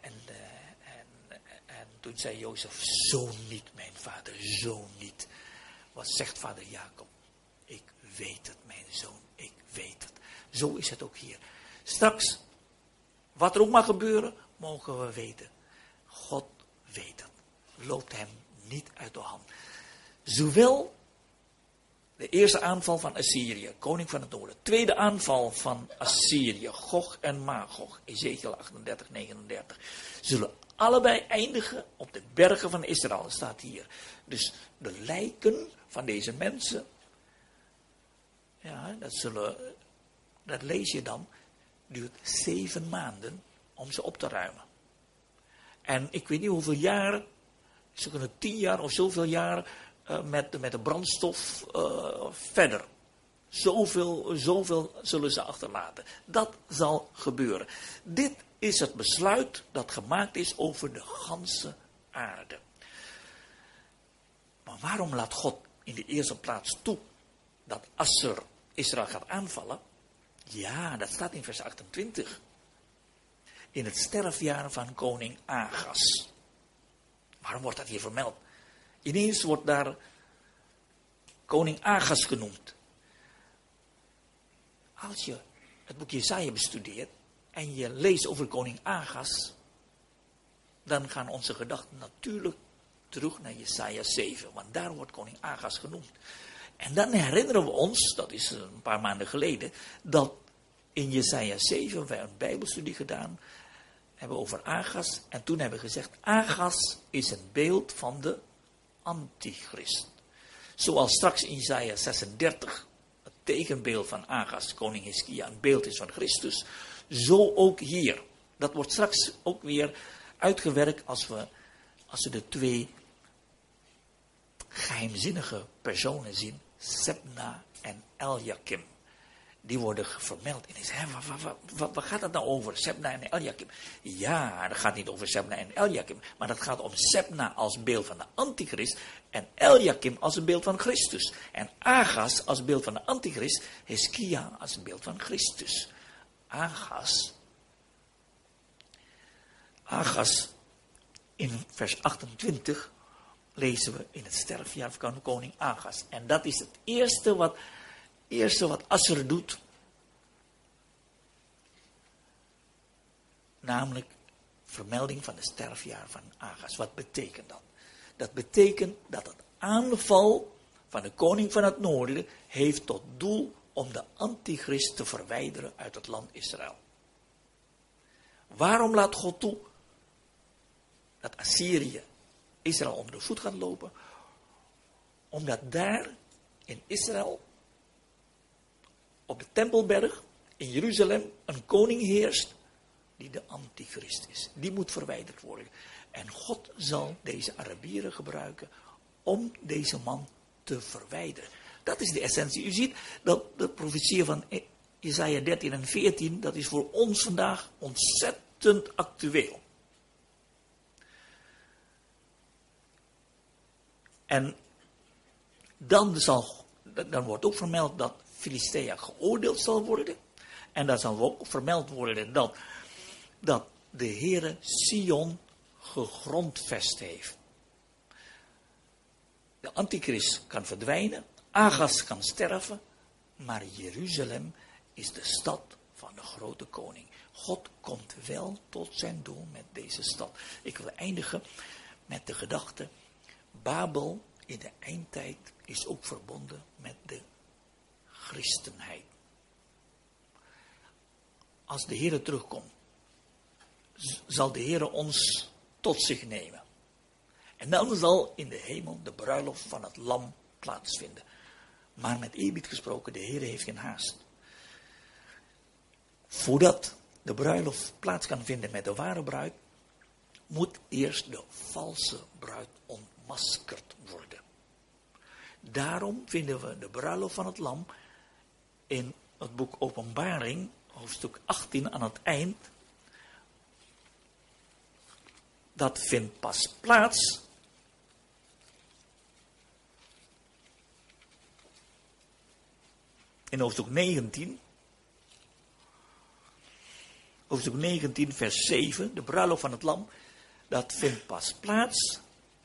toen zei Jozef, zo niet, mijn vader, zo niet. Wat zegt vader Jacob? Ik weet het, mijn zoon, ik weet het. Zo is het ook hier. Straks, wat er ook mag gebeuren, mogen we weten. God weet het. Loopt hem niet uit de hand. Zowel de eerste aanval van Assyrië, koning van het noorden. Tweede aanval van Assyrië, Gog en Magog, Ezekiel 38, 39. Zullen allebei eindigen op de bergen van Israël, dat staat hier. Dus de lijken van deze mensen, ja, dat lees je dan, duurt 7 maanden om ze op te ruimen. En ik weet niet hoeveel jaren, ze kunnen 10 jaar of zoveel jaren met de brandstof verder. Zoveel zullen ze achterlaten. Dat zal gebeuren. Dit is het besluit dat gemaakt is over de ganse aarde. Maar waarom laat God in de eerste plaats toe dat Assur Israël gaat aanvallen? Ja, dat staat in vers 28. In het sterfjaar van koning Agas. Waarom wordt dat hier vermeld? Ineens wordt daar koning Agas genoemd. Als je het boek Jesaja bestudeert en je leest over koning Agas, dan gaan onze gedachten natuurlijk terug naar Jesaja 7. Want daar wordt koning Agas genoemd. En dan herinneren we ons, dat is een paar maanden geleden, dat in Jesaja 7 wij een bijbelstudie gedaan hebben over Agas. En toen hebben we gezegd, Agas is een beeld van de antichrist. Zoals straks in Jesaja 36 het tegenbeeld van Agas, koning Hiskia, een beeld is van Christus. Zo ook hier. Dat wordt straks ook weer uitgewerkt als we de 2 geheimzinnige personen zien. Sebna en Eljakim. Die worden vermeld. En waar gaat het nou over? Sebna en Eljakim. Ja, dat gaat niet over Sebna en Eljakim. Maar dat gaat om Sebna als beeld van de antichrist. En Eljakim als een beeld van Christus. En Agas als beeld van de antichrist. Hiskia als een beeld van Christus. Agas, in vers 28 lezen we in het sterfjaar van de koning Agas. En dat is het eerste wat Assur doet. Namelijk vermelding van het sterfjaar van Agas. Wat betekent dat? Dat betekent dat het aanval van de koning van het noorden heeft tot doel om de antichrist te verwijderen uit het land Israël. Waarom laat God toe dat Assyrië Israël onder de voet gaat lopen? Omdat daar in Israël, op de Tempelberg, in Jeruzalem, een koning heerst die de antichrist is. Die moet verwijderd worden. En God zal deze Arabieren gebruiken om deze man te verwijderen. Dat is de essentie. U ziet dat de profetie van Jesaja 13 en 14, dat is voor ons vandaag ontzettend actueel. En dan wordt ook vermeld dat Filistea geoordeeld zal worden. En dan zal ook vermeld worden dat de Heere Sion gegrondvest heeft. De antichrist kan verdwijnen, Agas kan sterven, maar Jeruzalem is de stad van de grote koning. God komt wel tot zijn doel met deze stad. Ik wil eindigen met de gedachte, Babel in de eindtijd is ook verbonden met de christenheid. Als de Heere terugkomt, zal de Heere ons tot zich nemen. En dan zal in de hemel de bruiloft van het lam plaatsvinden. Maar met eerbied gesproken, de Heere heeft geen haast. Voordat de bruiloft plaats kan vinden met de ware bruid, moet eerst de valse bruid ontmaskerd worden. Daarom vinden we de bruiloft van het lam in het boek Openbaring, hoofdstuk 18 aan het eind. Dat vindt pas plaats in hoofdstuk 19. Hoofdstuk 19 vers 7, de bruiloft van het lam. Dat vindt pas plaats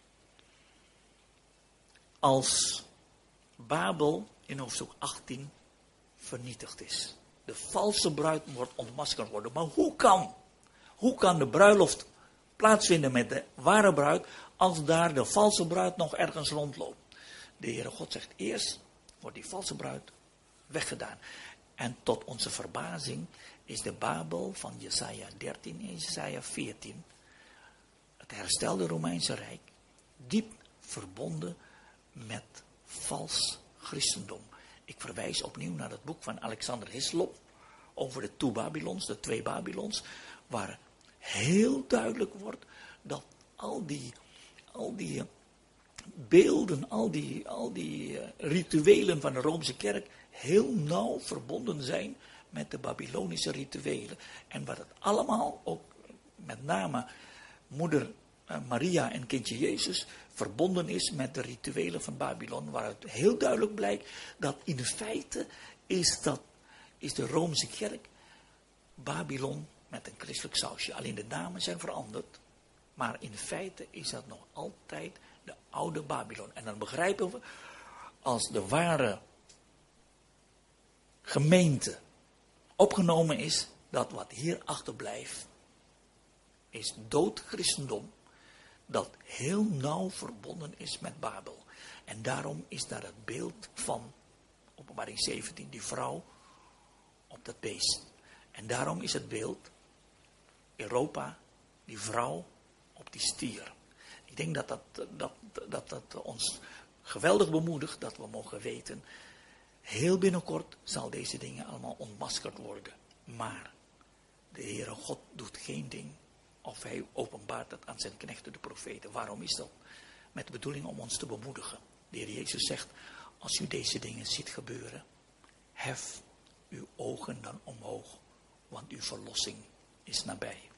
als Babel in hoofdstuk 18 vernietigd is. De valse bruid wordt ontmaskerd worden. Maar hoe kan de bruiloft plaatsvinden met de ware bruid als daar de valse bruid nog ergens rondloopt? De Heere God zegt eerst wordt die valse bruid weggedaan. En tot onze verbazing is de Babel van Jesaja 13 en Jesaja 14, het herstelde Romeinse Rijk, diep verbonden met vals christendom. Ik verwijs opnieuw naar het boek van Alexander Hislop over de twee Babylons, waar heel duidelijk wordt dat al die beelden, al die rituelen van de Romeinse kerk heel nauw verbonden zijn met de Babylonische rituelen. En wat het allemaal, ook met name moeder Maria en kindje Jezus, verbonden is met de rituelen van Babylon, waaruit heel duidelijk blijkt dat in feite is de Romeinse kerk Babylon met een christelijk sausje. Alleen de namen zijn veranderd, maar in feite is dat nog altijd de oude Babylon. En dan begrijpen we, als de ware gemeente opgenomen is, dat wat hier achterblijft is dood christendom, dat heel nauw verbonden is met Babel. En daarom is daar het beeld van Openbaring 17, die vrouw op dat beest. En daarom is het beeld Europa, die vrouw op die stier. Ik denk dat ons geweldig bemoedigt, dat we mogen weten, heel binnenkort zal deze dingen allemaal ontmaskerd worden. Maar de Heere God doet geen ding of hij openbaart het aan zijn knechten, de profeten. Waarom is dat? Met de bedoeling om ons te bemoedigen. De Heer Jezus zegt, als u deze dingen ziet gebeuren, hef uw ogen dan omhoog, want uw verlossing is nabij.